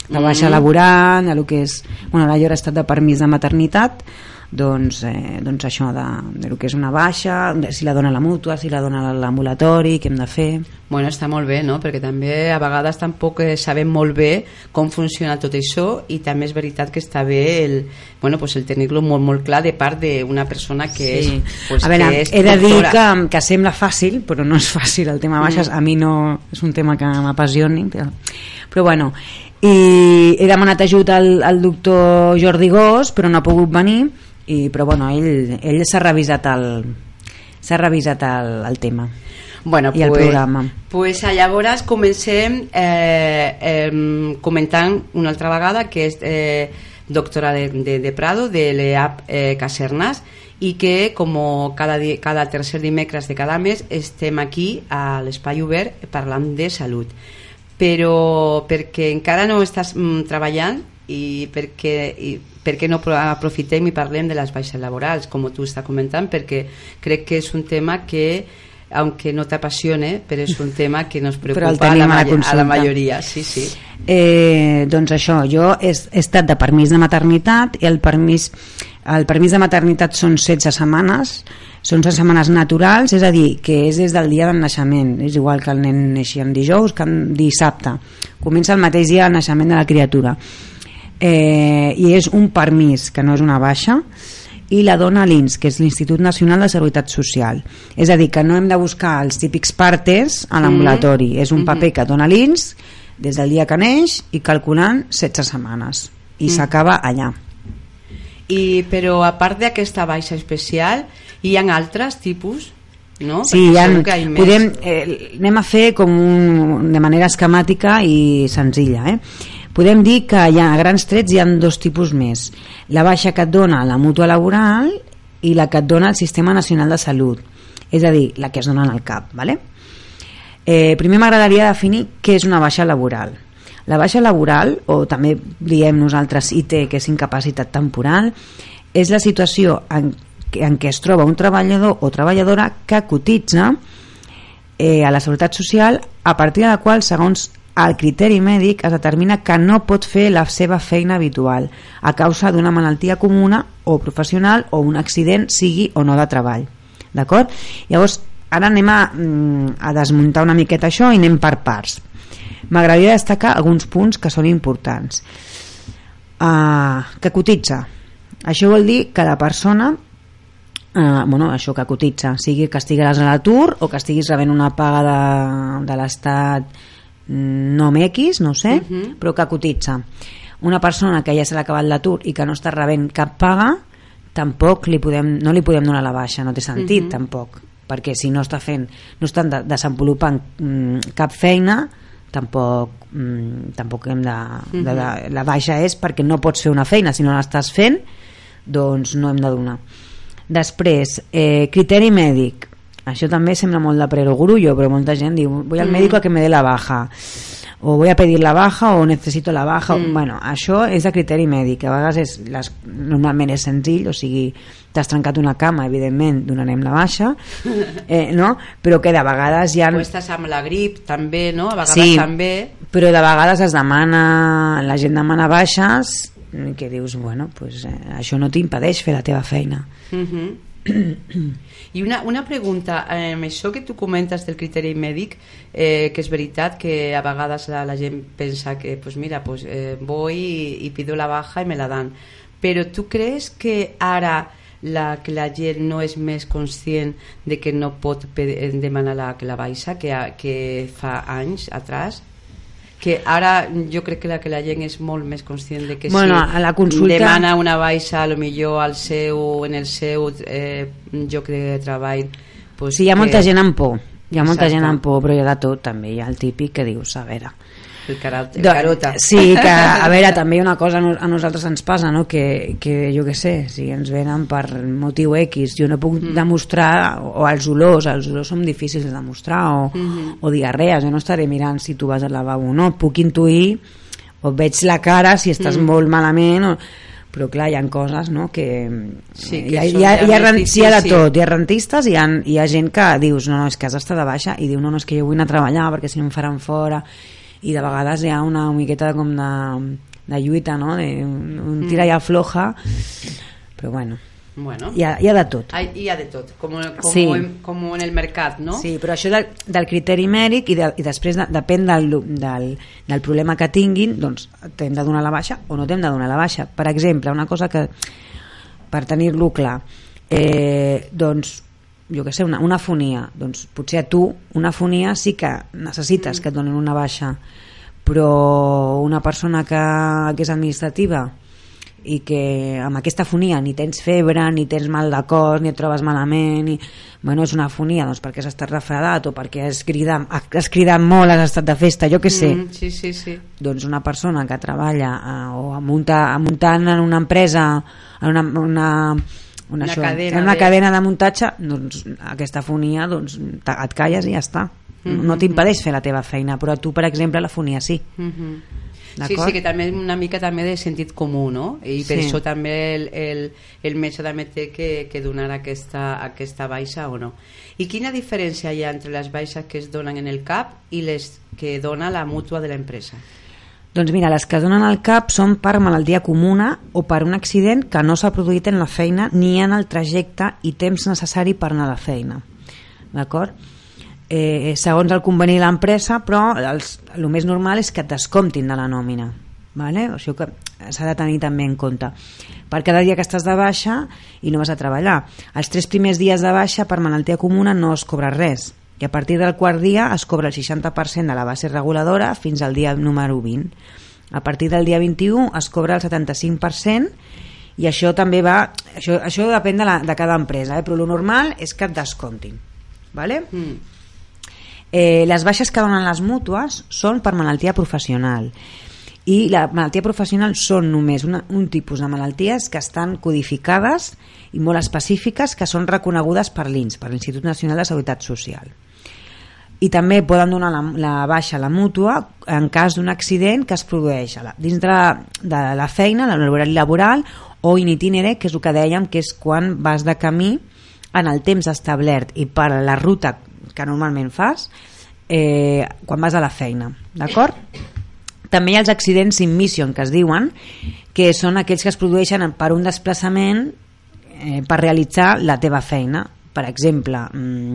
de baixa Mm. laboral, de lo que és, bueno, ara jo he estat de permís de maternitat, doncs, eh, doncs això de, de lo que és una baixa, de si la dona la mútua, si la dona l'ambulatori, què hem de fer. Bueno, està molt bé, no? Perquè també a vegades tampoc eh, sabem molt bé com funciona tot això, i també és veritat que està bé el, bueno, pues el tenir-lo molt, molt clar de part d'una persona que Sí. és, pues, a veure, que és he de dir doctora. que, que sembla fàcil, però no és fàcil el tema baixes, Mm. a mi no és un tema que m'apassioni, però, però bueno, i he demanat ajut al, al doctor Jordi Gós, però no ha pogut venir, i, però bueno, ell, ell s'ha revisat el s'ha revisat el, el tema. Bueno, i el pues, programa. Pues llavors comencem eh, eh, comentant una altra vegada que és eh, doctora de, de, de Prado, de l'E A P eh, Casernas, i que com cada, di, cada tercer dimecres de cada mes estem aquí a l'Espai Obert parlant de salut. Però perquè encara no estàs mm, treballant i perquè, i perquè no aprofitem i parlem de les baixes laborals, com tu estàs comentant, perquè crec que és un tema que, aunque no t'apassione, però és un tema que nos preocupa a la, a, la a la majoria. Sí, sí. Eh, doncs això, jo he, he estat de permís de maternitat, i el permís, el permís de maternitat són setze setmanes, són setze setmanes naturals, és a dir, que és des del dia del naixement, és igual que el nen neixi en dijous que en dissabte, comença el mateix dia del naixement de la criatura. Eh, i és un permís que no és una baixa, i la dona l'I N S, que és l'Institut Nacional de Seguretat Social, és a dir, que no hem de buscar els típics partes a l'ambulatori, mm-hmm. és un paper que dona l'I N S des del dia que neix i calculant setze setmanes i mm. s'acaba allà. I, però a part d'aquesta baixa especial hi ha altres tipus, no? Sí, hi ha, ha podem, eh, anem a fer com un, de manera esquemàtica i senzilla, eh? Podem dir que hi ha, a grans trets hi ha dos tipus més: la baixa que et dona la mútua laboral i la que et dona el Sistema Nacional de Salut, és a dir, la que es dona en el C A P, ¿vale? Eh, primer m'agradaria definir què és una baixa laboral. La baixa laboral, o també diem nosaltres I T, que és incapacitat temporal, és la situació en, en què es troba un treballador o treballadora que cotitza eh, a la Seguretat Social, a partir de la qual, segons el criteri mèdic, es determina que no pot fer la seva feina habitual a causa d'una malaltia comuna o professional o un accident, sigui o no de treball. D'acord? Llavors, ara anem a, a desmuntar una miqueta això i anem per parts. M'agradaria destacar alguns punts que són importants. Uh, que cotitza. Això vol dir que la persona, uh, bueno, això que cotitza, sigui que estiguis a l'atur o que estiguis rebent una paga de, de l'Estat nom X, no sé, uh-huh. però que cotitza. Una persona que ja se l'ha acabat l'atur i que no està rebent cap paga, tampoc li podem, no li podem donar la baixa, no té sentit, uh-huh. tampoc, perquè si no està fent, no estan de, desenvolupant mm, cap feina, tampoc mm, tampoc hem de, uh-huh. de, de, la baixa és perquè no pots fer una feina, si no l'estàs fent, doncs no hem de donar. Després, eh, criteri mèdic. Això també sembla molt de perogrullo, però molta gent diu, voy al mm. médico a que me dé la baja, o voy a pedir la baja, o necesito la baja. Mm. Bueno, això és de criteri mèdic, a vegades és, les, normalment és senzill, o sigui, t'has trencat una cama, evidentment donarem la baixa, eh, no? Però que de vegades hi ha... O estàs amb la grip, també, no? A vegades sí, també... però de vegades es demana, la gent demana baixes, que dius, bueno, pues, eh, això no t'impedeix fer la teva feina. Mhm. I una, una pregunta, eh, això que tu comentes del criteri mèdic, eh, que és veritat que a vegades la, la gent pensa que pues mira, pues, eh, voy y, y pido la baja y me la dan, però tu creus que ara la, que la gent no és més conscient de que no pot pedir, demanar la, la baixa que, que fa anys atrás? Que ara jo crec que la, que la gent és molt més conscient de que bueno, si a la consulta... demana una baixa a lo millor al seu, en el seu eh, lloc de treball, pues sí, hi ha que... molta gent amb por, hi ha molta Exacte. gent amb por, però hi ha de tot també, hi ha el típic que dius, a veure, el, carot, el Do, carota sí, que a veure, també hi ha una cosa a nosaltres ens passa, no? que, que jo què sé, si ens venen per motiu X, jo no puc mm. demostrar, o els olors, els olors són difícils de demostrar, o, mm-hmm. o diarrees, jo no estaré mirant si tu vas al lavabo o no, puc intuir o veig la cara si estàs mm. molt malament o... però clar, hi ha coses, no? que, sí, que hi, ha, hi, ha, hi, ha, ha hi ha de tot, hi ha rentistes, hi ha, hi ha gent que dius, no, no, és que has d'estar de baixa, i diu, no, no, és que jo vull anar a treballar perquè si no em faran fora, i de vegades hi ha una miqueta com de, de lluita, no? De, un tira i afloja, però bueno, Bueno, hi ha, hi ha de tot. hay, hi ha de tot, com, com, Sí. en, com en el mercat, no? Sí, però això del, del criteri mèdic i, de, i després de, depèn del, del, del problema que tinguin, doncs t'hem de donar la baixa o no t'hem de donar la baixa. Per exemple, una cosa que, per tenir-lo clar, eh, doncs, jo què sé, una, una fonia, doncs potser a tu una fonia sí que necessites que et donin una baixa, però una persona que, que és administrativa i que amb aquesta fonia ni tens febre, ni tens mal de cos, ni et trobes malament, i, bueno, és una fonia doncs perquè has estat refredat o perquè has cridat, has cridat molt, has estat de festa, jo què sé. Mm, sí, sí, sí. Doncs una persona que treballa eh, o munta, muntant en una empresa, en una, una, una, Una això, cadena en una de- cadena de muntatge, doncs aquesta fonia doncs, te- et calles i ja està. Mm-hmm. No t'impedeix fer la teva feina, però tu, per exemple, la fonia sí. Mhm. Sí, D'acord? sí, que també una mica també de sentit comú, no? I per Sí. això també el, el, el metge també té que, que donar aquesta, aquesta baixa o no. I quina diferència hi ha entre les baixes que es donen en el C A P i les que dona la mútua de l'empresa? Doncs mira, les que donen al cap són per malaltia comuna o per un accident que no s'ha produït en la feina ni en el trajecte i temps necessari per anar a la feina. D'acord? Eh, segons el conveni de l'empresa, però els, el més normal és que et descomptin de la nòmina. Vale? O sigui que s'ha de tenir també en compte. Per cada dia que estàs de baixa i no vas a treballar. Els tres primers dies de baixa per malaltia comuna no es cobra res. I a partir del quart dia es cobra el seixanta per cent de la base reguladora fins al dia número vint. A partir del dia vint-i-u es cobra el setanta-cinc per cent i això també va... Això, això depèn de, la, de cada empresa, eh? Però el normal és que et descomptin. Vale? Mm. Eh, les baixes que donen les mútues són per malaltia professional i la malaltia professional són només una, un tipus de malalties que estan codificades i molt específiques que són reconegudes per l'I N S, per l'Institut Nacional de Seguretat Social. I també poden donar la, la baixa a la mútua en cas d'un accident que es produeix a la, dins de la, de la feina, de l'horari laboral o in itinere, que és el que dèiem que és quan vas de camí en el temps establert i per la ruta que normalment fas eh, quan vas a la feina, d'acord? També hi ha els accidents in mission que es diuen, que són aquells que es produeixen per un desplaçament eh, per realitzar la teva feina. Per exemple, mm,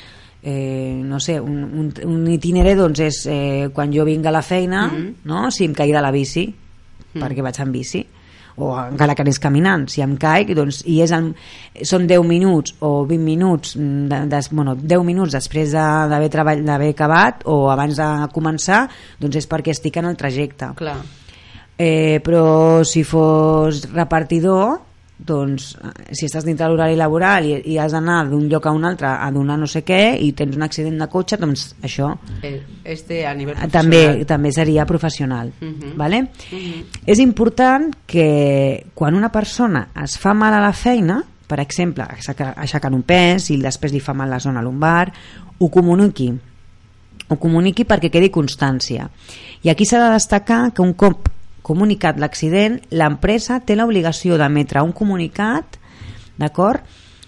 eh, no sé, un, un, un itinere doncs és eh, quan jo vinc a la feina, Mm-hmm. no? Si em caig de la bici, Mm. perquè vaig en bici, o encara que anés caminant, si em caic doncs, i és el, són deu minuts o vint minuts de, de, bueno, deu minuts després de, d'haver, treball, d'haver acabat o abans de començar, doncs és perquè estic en el trajecte. Clar. Eh, però si fos repartidor, doncs si estàs dintre de l'horari laboral i, i has d'anar d'un lloc a un altre a donar no sé què i tens un accident de cotxe, doncs això Eh, Este a nivell també, professional. també seria professional. Mhm. Vale? Mhm. És important que quan una persona es fa mal a la feina, per exemple, aixeca- aixecant un pes i després li fa mal la zona lumbar, ho comuniqui. Ho comuniqui perquè quedi constància. I aquí s'ha de destacar que un cop comunicat l'accident, l'empresa té l'obligació d'emetre un comunicat, d'acord,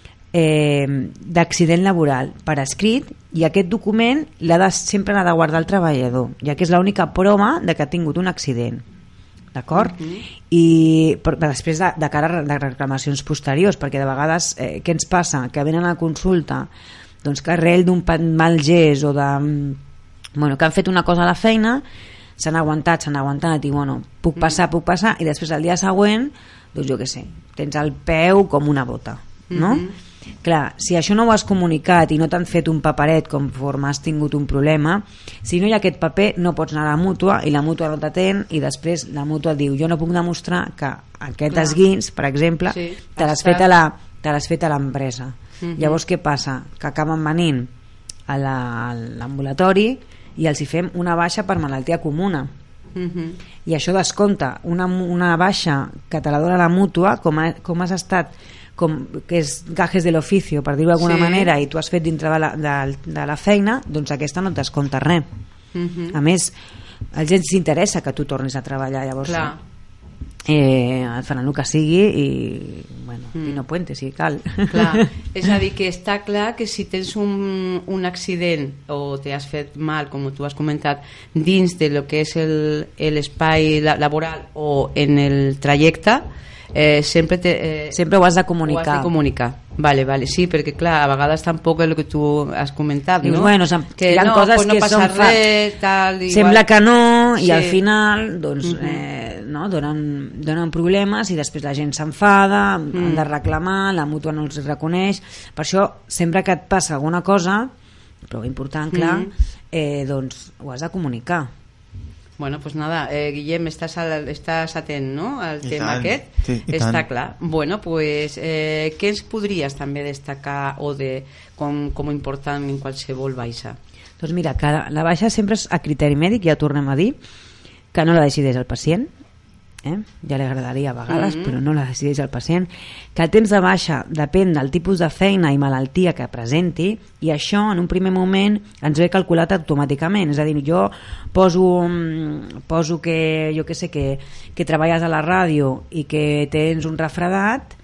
eh, d'accident laboral per escrit, i aquest document l'ha de, sempre l'ha de guardar el treballador, ja que és l'única prova de que ha tingut un accident, d'acord? Mhm. I per, després de, de cara a de reclamacions posteriors, perquè de vegades eh, què ens passa? Que venen a consulta doncs que arrel d'un pa- mal gest o de, bueno, que han fet una cosa a la feina, s'han aguantat, s'han aguantat i bueno, puc passar, puc passar, i després el dia següent, doncs jo què sé, tens el peu com una bota, no? Mhm. Clar, si això no ho has comunicat i no t'han fet un paperet conforme has tingut un problema, si no hi ha aquest paper no pots anar a la mútua i la mútua no t'atén i després la mútua et diu jo no puc demostrar que aquest Clar. esguins, per exemple, Sí, te l'has està- fet a la, te l'has fet a l'empresa. Mhm. Llavors què passa? Que acaben venint a la- a l'ambulatori i els hi fem una baixa per malaltia comuna. Mhm. I això descompta una, una baixa que te la dona la mútua, com, ha, com has estat, com, que és gajes de l'oficio, per dir-ho d'alguna Sí. manera, i tu has fet dintre de la, de, de la feina, doncs aquesta no et descompta res. Mhm. A més, a gent s'interessa que tu tornis a treballar, llavors Clar. eh, et faran el que sigui i, bueno, bueno, Mm. Pino Puente, si cal. Clar, és a dir, que està clar que si tens un, un accident o t'has fet mal, com tu has comentat, dins de lo que és el- l'espai la- laboral o en el trajecte, eh, sempre, te, eh, Sempre ho has de ho has comunicar. de comunicar. Vale, vale, sí, perquè clar, a vegades tampoc és el que tu has comentat, Dius, no? bueno, sem- que hi ha no, coses pues no que passa són fa- res, tal, igual. Sembla que no, i Sí. al final doncs, Mhm. eh, no, donen, donen problemes i després la gent s'enfada, mm. han de reclamar, la mútua no els reconeix. Per això, sempre que et passa alguna cosa, prou important, clar, Mhm. eh, doncs ho has de comunicar. Bueno, pues nada, eh, Guillem, estàs, al, estàs atent, no?, al I tema tant. aquest. Sí, i Està tant. clar. Bueno, pues, eh, què ens podries també destacar o de com, com important en qualsevol baixa? Doncs mira, que la baixa sempre és a criteri mèdic, ja tornem a dir, que no la decideix el pacient, eh? Ja li agradaria a vegades, Mhm. però no la decideix el pacient, que el temps de baixa depèn del tipus de feina i malaltia que presenti, i això en un primer moment ens ve calculat automàticament. És a dir, jo poso, mm, poso que, jo que sé, que, que treballes a la ràdio i que tens un refredat,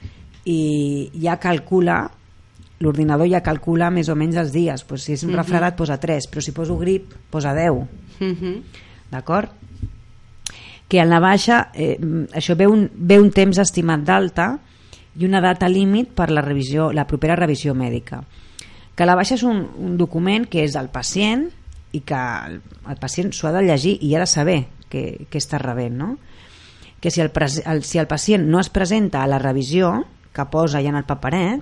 i ja calcula, l'ordinador ja calcula més o menys els dies. Pues si és un Mhm. refredat posa tres, però si poso grip posa deu. Mhm. D'acord? Que en la baixa eh, això ve un, ve un temps estimat d'alta i una data límit per la revisió, la propera revisió mèdica. Que la baixa és un, un document que és del pacient i que el, el pacient s'ho ha de llegir i ha de saber què, què està rebent, no? Que si el, pres, el, si el pacient no es presenta a la revisió que posa ja en el paperet,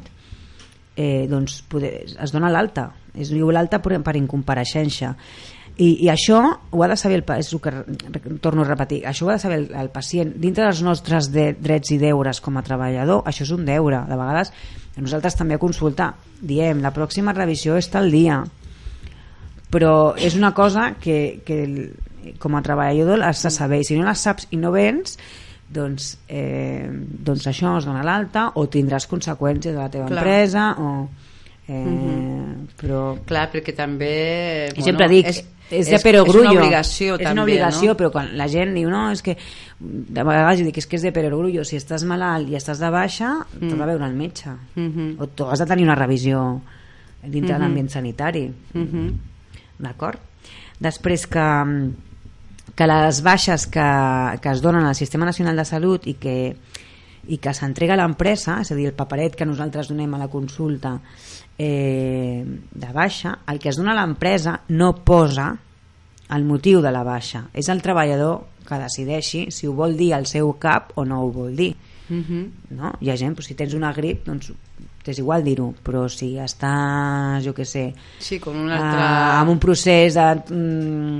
eh, doncs poder, es dona l'alta, es diu l'alta per, per incompareixença. I, i això ho ha de saber el, pa- és el que re- torno a repetir, això ho ha de saber el, el pacient dintre dels nostres de, drets i deures com a treballador. Això és un deure. De vegades nosaltres també a consultar diem la pròxima revisió és tal dia, però és una cosa que, que el- com a treballador has de saber, i si no la saps i no vens, doncs, eh, doncs això es dona l'alta o tindràs conseqüències de la teva Clar. empresa o, eh, Mhm. però Clar, perquè també... i sempre dic, és, és de és perogrullo, una obligació és també, una obligació, no? però quan la gent diu no, és que de vegades jo dic és que és de perogrullo, si estàs malalt i estàs de baixa, mm. t'has de veure el metge, Mhm. o tu has de tenir una revisió dintre Mhm. de l'ambient sanitari, Mhm. d'acord? Després que, que les baixes que, que es donen al Sistema Nacional de Salut i que, i que s'entrega a l'empresa, és a dir, el paperet que nosaltres donem a la consulta eh, de baixa, el que es dona a l'empresa no posa el motiu de la baixa, és el treballador que decideixi si ho vol dir al seu cap o no ho vol dir, Mhm. no? Hi ha gent, doncs, si tens una grip doncs és igual dir-ho, però si estàs, jo què sé, Sí, com un uh, altre... amb un procés de, mm,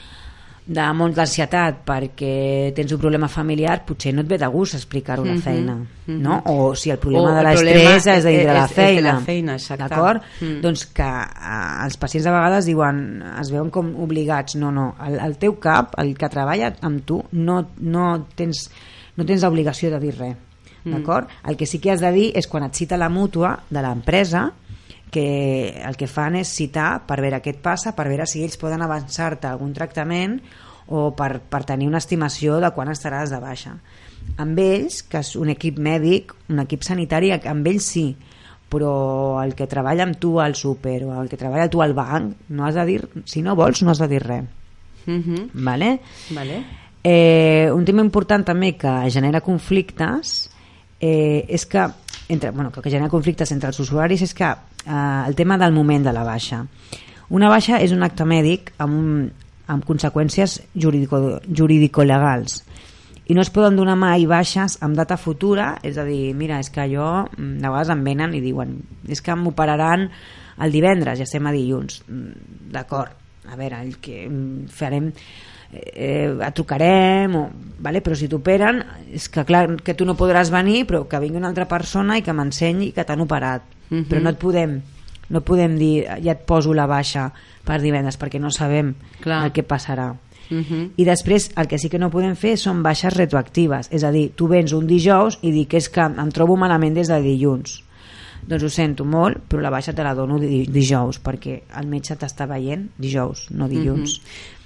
de molt d'ansietat perquè tens un problema familiar, potser no et ve de gust explicar-ho a la Mhm, feina, mhm. no? O si el problema O de el l'estrès problema és de és- la és- és de feina, la feina, exacte. d'acord? Mm. Doncs que uh, els pacients de vegades diuen, es veuen com obligats, no, no, el, el teu cap, el que treballa amb tu, no, no tens, no tens l'obligació de dir res, d'acord? El que sí que has de dir és quan et cita la mútua de l'empresa, que el que fan és citar per veure què et passa, per veure si ells poden avançar-te algun tractament o per, per tenir una estimació de quan estaràs de baixa. Amb ells, que és un equip mèdic, un equip sanitari, amb ells sí, però el que treballa amb tu al súper o el que treballa tu al banc, no has de dir, si no vols, no has de dir res. Mhm. Vale? Vale. Eh, un tema important també que genera conflictes eh, és que entre, bueno, que genera conflictes entre els usuaris és que eh, el tema del moment de la baixa. Una baixa és un acte mèdic amb, un, amb conseqüències jurídico, jurídico-legals i no es poden donar mai baixes amb data futura, és a dir, mira, és que jo, mm, de vegades em venen i diuen és que m'operaran el divendres, ja estem a dilluns. Mm, d'acord, a veure, el que mm, farem eh, et trucarem o, vale? Però si t'operen és que clar que tu no podràs venir però que vingui una altra persona i que m'ensenyi que t'han operat, Mhm. però no et podem no podem dir ja et poso la baixa per divendres perquè no sabem Clar. el que passarà. Mhm. I després el que sí que no podem fer són baixes retroactives, és a dir, tu vens un dijous i dic que és que em trobo malament des de dilluns, doncs ho sento molt però la baixa te la dono di- dijous perquè el metge t'està veient dijous, no dilluns.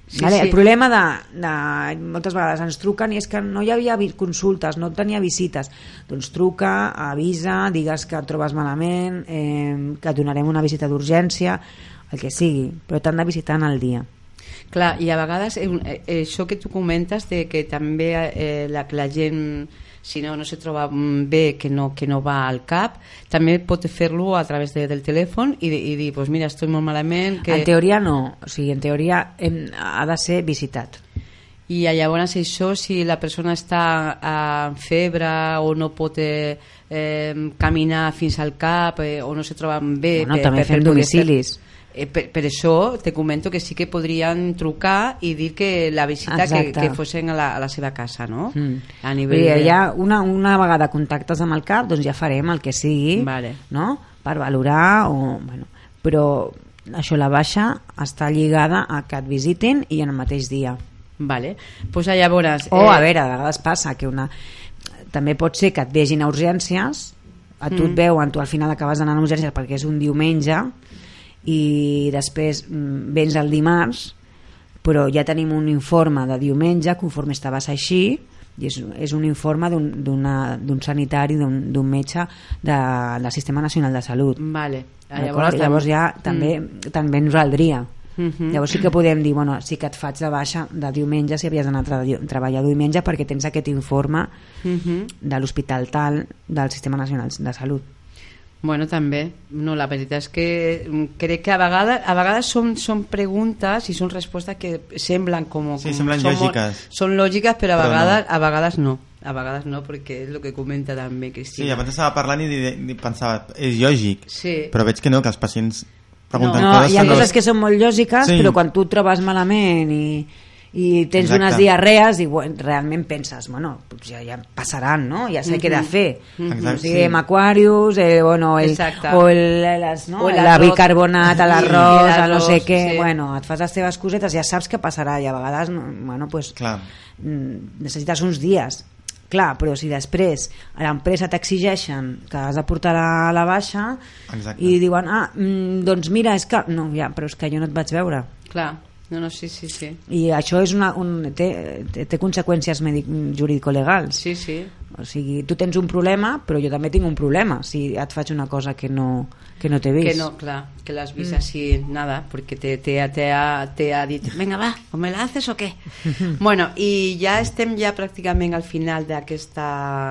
Sí, vale? sí. El problema de, de moltes vegades ens truquen i és que no hi havia vi- consultes, no tenia visites, doncs truca, avisa, digues que et trobes malament, eh, que et donarem una visita d'urgència, el que sigui, però t'han de visitar en el dia. Clar, i a vegades eh, eh, això que tu comentes de que també eh, la, la gent, si no, no se troba bé, que no, que no va al CAP, també pot fer-lo a través de, del telèfon i, i dir, pues mira, estoy molt malament que... En teoria no, o sigui, en teoria hem, ha de ser visitat. I llavors això, si la persona està amb febre o no pot eh, eh, caminar fins al CAP eh, o no se troba bé... Bueno, també fem domicilis. Eh, per, per això te comento que sí que podrien trucar i dir que la visita que, que fossin a la, a la seva casa, no? Mm. A nivell Vull dir, de... ja una, una vegada contactes amb el CAP, doncs ja farem el que sigui, Vale. no? Per valorar o... Bueno, però això, la baixa està lligada a que et visitin i en el mateix dia. Vale. Pues llavors... O, eh... a veure, a vegades passa que una... també pot ser que et vegin a urgències, a tu mm. et veuen, tu al final acabes d'anar a urgències perquè és un diumenge i després vens el dimarts, però ja tenim un informe de diumenge conforme estaves així, i és, és un informe d'un sanitari, d'un metge de, del Sistema Nacional de Salut. Vale. Llavors, llavors ja també, mm. també ens valdria. Mm-hmm. Llavors sí que podem dir, bueno, sí que et faig de baixa de diumenge si havies d'anar a tra treballar diumenge perquè tens aquest informe mm-hmm. de l'hospital tal del Sistema Nacional de Salut. Bueno, també. No, la veritat és que crec que a vegades, a vegades són, són preguntes i són respostes que semblen com... Sí, com semblen són lògiques. Molt, són lògiques, però a però vegades no. a vegades no. A vegades no, perquè és el que comenta també Cristina. Sí, abans estava parlant i, i, i pensava, és lògic, sí. però veig que no, que els pacients pregunten no, coses... Hi ha que coses no... que són molt lògiques, sí. Però quan tu et trobes malament i... i tens Exacte. Unes diarrees i bueno, realment penses, bueno, ja, ja passaran, no? Ja sé mm-hmm. què he de fer. Mm-hmm. O sigui, amb Aquarius, eh, bueno, el, o el, les, no? el bicarbonat, l'arròs, sí, el no sé què, sí. Bueno, et fas les teves cosetes, ja saps què passarà i a vegades, bueno, pues, Clar. necessites uns dies. Clar, però si després a l'empresa t'exigeixen que has de portar la, la baixa Exacte. I diuen, ah, doncs mira, és que... No, ja, però és que jo no et vaig veure. Clar. No, no, sí, sí, sí. I això és una, un, té, té, té conseqüències jurídico-legals. Sí, sí. O sigui, tu tens un problema, però jo també tinc un problema si et faig una cosa que no, que no t'he vist. Que no, clar, que l'has vist mm. així, nada, perquè te, te, te, ha, te ha dit, venga, va, o me la haces o què? Bueno, i ja estem ja pràcticament al final d'aquesta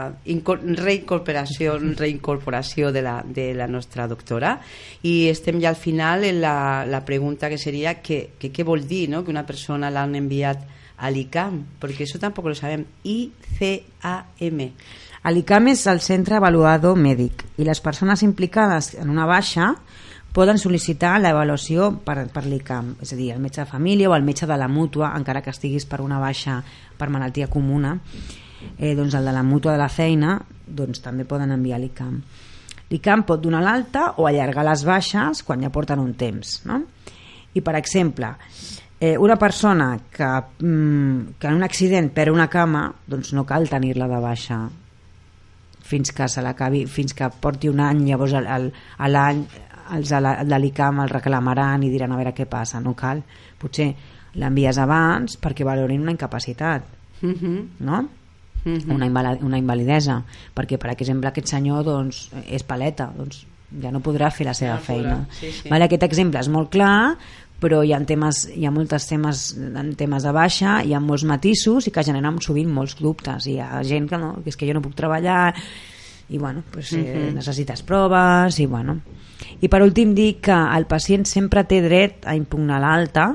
reincorporació, reincorporació de la, de la nostra doctora, i estem ja al final en la, la pregunta que seria que, que què vol dir, no?, que una persona l'han enviat a l'I C A M, perquè això tampoc lo sabem. I C A M. L'I C A M és el Centre Avaluador Mèdic i les persones implicades en una baixa poden sol·licitar l'avaluació per, per l'I C A M, és a dir, el metge de família o el metge de la mútua, encara que estiguis per una baixa per malaltia comuna, eh, doncs el de la mútua de la feina, doncs també poden enviar l'I C A M. L'I C A M pot donar l'alta o allargar les baixes quan ja porten un temps, no? I per exemple, eh, una persona que, mm, que en un accident perd una cama, doncs no cal tenir-la de baixa fins que se l'acabi, fins que porti un any, llavors el, el, a l'any els de l'I C A M el reclamaran i diran a veure què passa, no cal, potser l'envies abans perquè valorin una incapacitat, mm-hmm. no? Mm-hmm. Una, inval una invalidesa, perquè per exemple aquest senyor doncs, és paleta, doncs ja no podrà fer la seva ja feina. Sí, sí. Vale, aquest exemple és molt clar, però hi ha temes, hi ha molts temes, temes de baixa, hi ha molts matisos i que generen sovint molts dubtes. Hi ha gent que no, que és que jo no puc treballar i bueno, pues, eh, uh-huh. necessites proves i bueno. I per últim dir que el pacient sempre té dret a impugnar l'alta,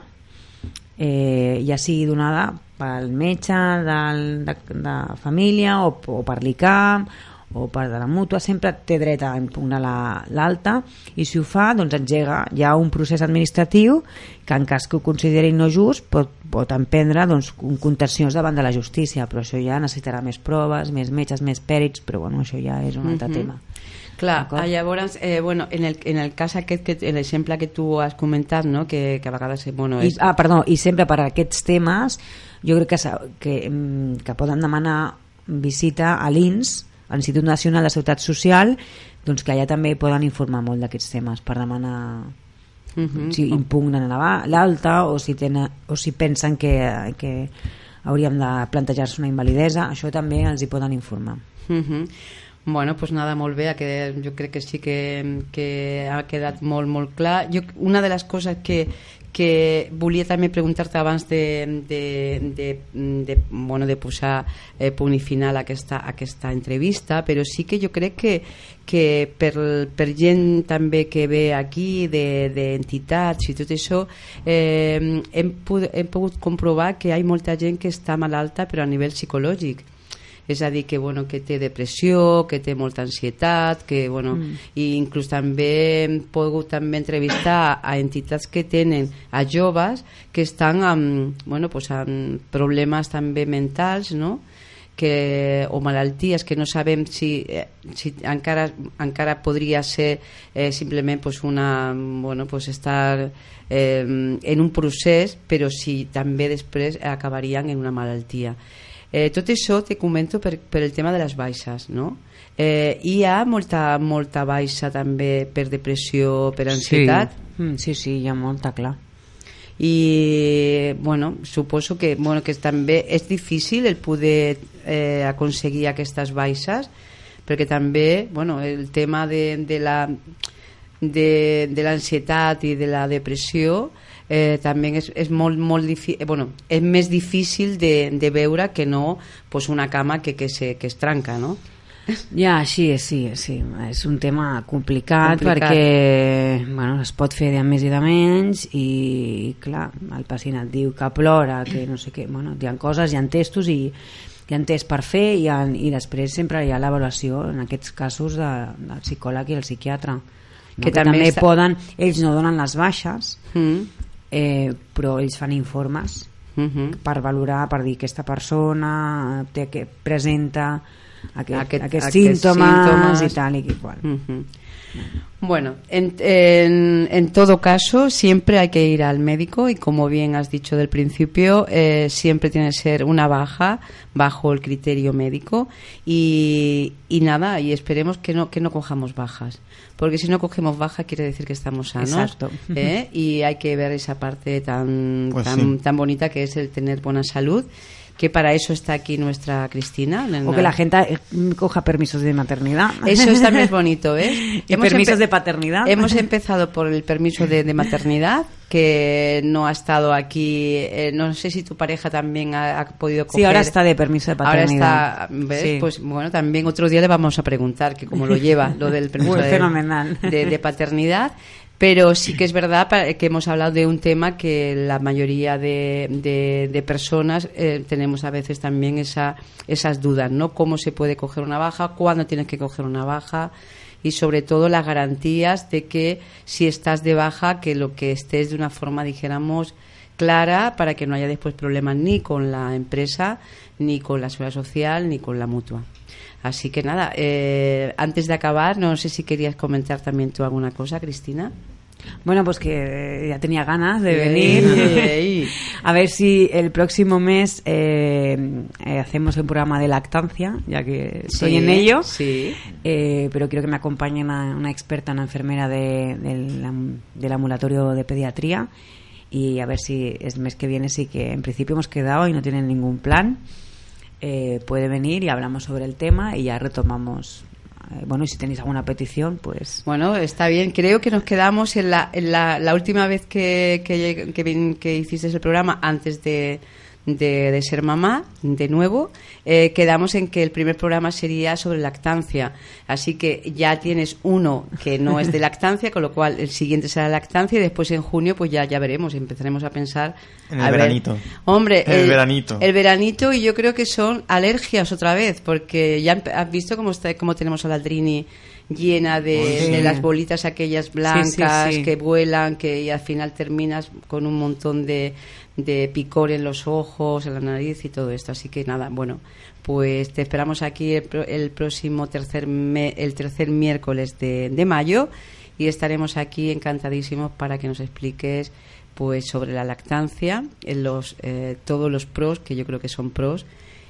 eh, ja sigui donada pel metge del, de, de família o, o per l'I C A M o per de la mútua, sempre té dret a impugnar l'alta la, i si ho fa, doncs engega ja un procés administratiu que en cas que ho consideri no just pot, pot emprendre doncs, contencions davant de la justícia, però això ja necessitarà més proves, més metges, més pèrits, però bueno, això ja és un altre mm-hmm. tema. Clar, llavors, eh, bueno, en el, en el cas aquest, que, l'exemple que tu has comentat, no? que, que a vegades... Bueno, és... I, ah, perdó, i sempre per aquests temes jo crec que, que, que poden demanar visita a l'I N S, a l'Institut Nacional de Seguretat Social, doncs que allà també poden informar molt d'aquests temes per demanar Mhm. si impugnen la- l'alta o si, tenen, o si pensen que, que hauríem de plantejar-se una invalidesa, això també els hi poden informar. Mhm. Bueno, pues nada, molt bé, ha quedat, jo crec que sí que, que ha quedat molt, molt clar. Jo, una de les coses que, que volia també preguntar-te abans de, de, de, de, bueno, de posar eh, punt i final a aquesta, a aquesta entrevista, però sí que jo crec que, que per, per gent també que ve aquí d'entitats de, i tot això, eh, hem, hem pogut comprovar que hi ha molta gent que està malalta però a nivell psicològic. És a dir, que, bueno, que té depressió, que té molta ansietat, que, bueno, mm. i inclús també hem pogut també entrevistar a entitats que tenen a joves que estan amb, bueno, pues amb problemes també mentals, no? Que, o malalties que no sabem si, eh, si encara, encara podria ser eh, simplement pues una, bueno, pues estar eh, en un procés, però si també després acabarien en una malaltia. Eh, tot això te comento per, per el tema de les baixes, no? Eh, hi ha molta, molta baixa també per depressió, per ansietat? Sí, mm, sí, sí, hi ha molta, clar. I bueno, suposo que, bueno, que també és difícil el poder eh, aconseguir aquestes baixes, perquè també, bueno, el tema de, de la de, de l'ansietat i de la depressió eh, també és, és molt, molt difícil, bueno, és més difícil de, de veure que no pues una cama que, que, se, que es trenca, no? Ja, sí, sí, sí. És un tema complicat, complicat. perquè bueno, es pot fer de més i de menys i, clar, el pacient et diu que plora, que no sé què, bueno, hi ha coses, hi ha testos i hi ha test per fer i, ha, i després sempre hi ha l'avaluació en aquests casos de, del psicòleg i el psiquiatre, no? que, que també, també està... poden, ells no donen les baixes, mm. eh, però ells fan informes mm-hmm. per valorar, per dir que aquesta persona té, que presenta aquest, aquest, aquests, aquests símptomes, símptomes i tal i qual. Mm-hmm. Bueno, en, en, en todo caso siempre hay que ir al médico y como bien has dicho del principio eh, siempre tiene que ser una baja bajo el criterio médico y, y nada, y esperemos que no, que no cojamos bajas, porque si no cogemos baja quiere decir que estamos sanos. Exacto. ¿eh? Y hay que ver esa parte tan, pues tan, sí. tan bonita que es el tener buena salud, que para eso está aquí nuestra Cristina. O que la gente coja permisos de maternidad. Eso está más bonito, ¿eh? Y hemos permisos de paternidad. Hemos empezado por el permiso de, de maternidad, que no ha estado aquí. Eh, no sé si tu pareja también ha, ha podido coger. Sí, ahora está de permiso de paternidad. Ahora está, ¿ves? Sí. Pues bueno, también otro día le vamos a preguntar que cómo lo lleva, lo del permiso Muy de, fenomenal. De, de paternidad. Pero sí que es verdad que hemos hablado de un tema que la mayoría de, de, de personas eh, tenemos a veces también esa, esas dudas, ¿no? ¿Cómo se puede coger una baja? ¿Cuándo tienes que coger una baja? Y sobre todo las garantías de que si estás de baja, que lo que estés de una forma, dijéramos, clara, para que no haya después problemas ni con la empresa, ni con la seguridad social, ni con la mutua. Así que nada, eh, antes de acabar, no sé si querías comentar también tú alguna cosa, Cristina. Bueno, pues que ya tenía ganas de venir. Ey, ey. A ver si el próximo mes eh, eh, hacemos un programa de lactancia, ya que estoy sí, en ello. Sí. Eh, pero quiero que me acompañe una, una experta, una enfermera de, del, del ambulatorio de pediatría. Y a ver si el mes que viene sí que en principio hemos quedado y no tienen ningún plan. Eh, puede venir y hablamos sobre el tema y ya retomamos. Eh, bueno, y si tenéis alguna petición, pues... Bueno, está bien. Creo que nos quedamos en la, en la, la última vez que, que, que, que hiciste el programa, antes de, de, de ser mamá, de nuevo, eh, quedamos en que el primer programa sería sobre lactancia. Así que ya tienes uno que no es de lactancia, con lo cual el siguiente será lactancia y después en junio pues ya, ya veremos, empezaremos a pensar... En el a veranito. Ver, hombre, el, el veranito. El veranito, y yo creo que son alergias otra vez, porque ya has visto cómo, está, cómo tenemos a la Trini llena de, sí. de las bolitas aquellas blancas sí, sí, sí. que vuelan, que y al final terminas con un montón de, de picor en los ojos, en la nariz y todo esto. Así que nada, bueno, pues te esperamos aquí el, el próximo tercer me, el tercer miércoles de, de mayo y estaremos aquí encantadísimos para que nos expliques pues sobre la lactancia, en los, eh, todos los pros, que yo creo que son pros,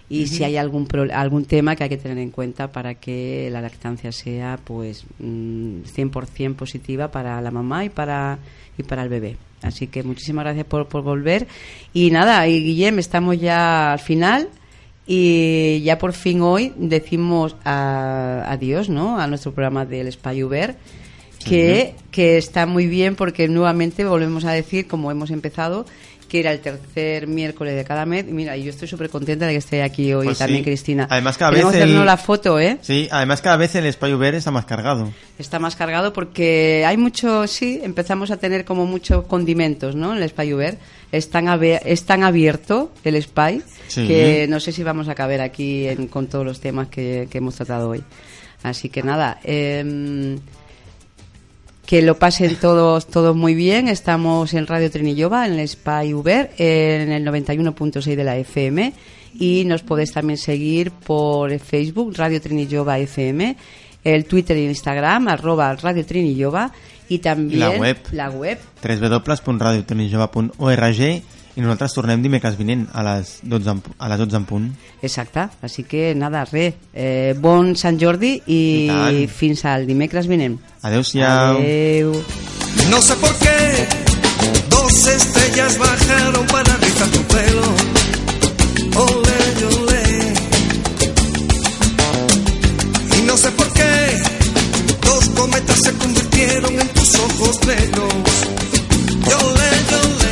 y uh-huh. si hay algún pro, algún tema que hay que tener en cuenta para que la lactancia sea pues cien por ciento positiva para la mamá y para y para el bebé. Así que muchísimas gracias por, por volver. Y nada, y Guillem, estamos ya al final y ya por fin hoy decimos a, adiós, ¿no?, a nuestro programa del Espai Obert, que, uh-huh. que está muy bien porque nuevamente volvemos a decir, como hemos empezado, que era el tercer miércoles de cada mes. Mira, y yo estoy súper contenta de que esté aquí hoy pues también, sí. Cristina. Además, cada Queremos vez el... hacernos la foto, ¿eh? Sí, además cada vez el Espai Obert está más cargado. Está más cargado porque hay mucho, sí, empezamos a tener como muchos condimentos, ¿no? En el Espai Obert. Es tan, abe- es tan abierto el Espai sí. que no sé si vamos a caber aquí en, con todos los temas que, que hemos tratado hoy. Así que nada, eh, que lo pasen todos todos muy bien. Estamos en Radio Trinillova, en el Espai Obert, en el noventa y uno punto seis de la F M, y nos podéis también seguir por Facebook, Radio Trinillova F M, el Twitter e Instagram, arroba Radio Trinillova, y también la web, la web w w w punt radio trinillova punt org. I nosaltres tornem dimecres vinent a les dotze, a les dotze en punt. Exacte, així que nada, res. Eh, bon Sant Jordi i, I fins al dimecres vinent. Adéu-siau. Adéu. No sé por qué dos estrellas bajaron para rizar tu pelo. Ole, ole. Y no sé por qué dos cometas se convirtieron en tus ojos negros. Ole, ole.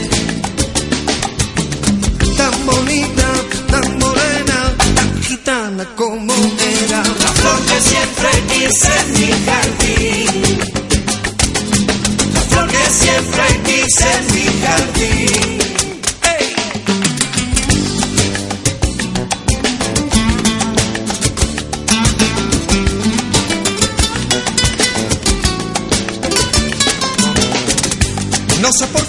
Tan bonita, tan morena, tan gitana como era. La flor que siempre quise en mi jardín. La flor que siempre quise en mi jardín. Hey. No sé por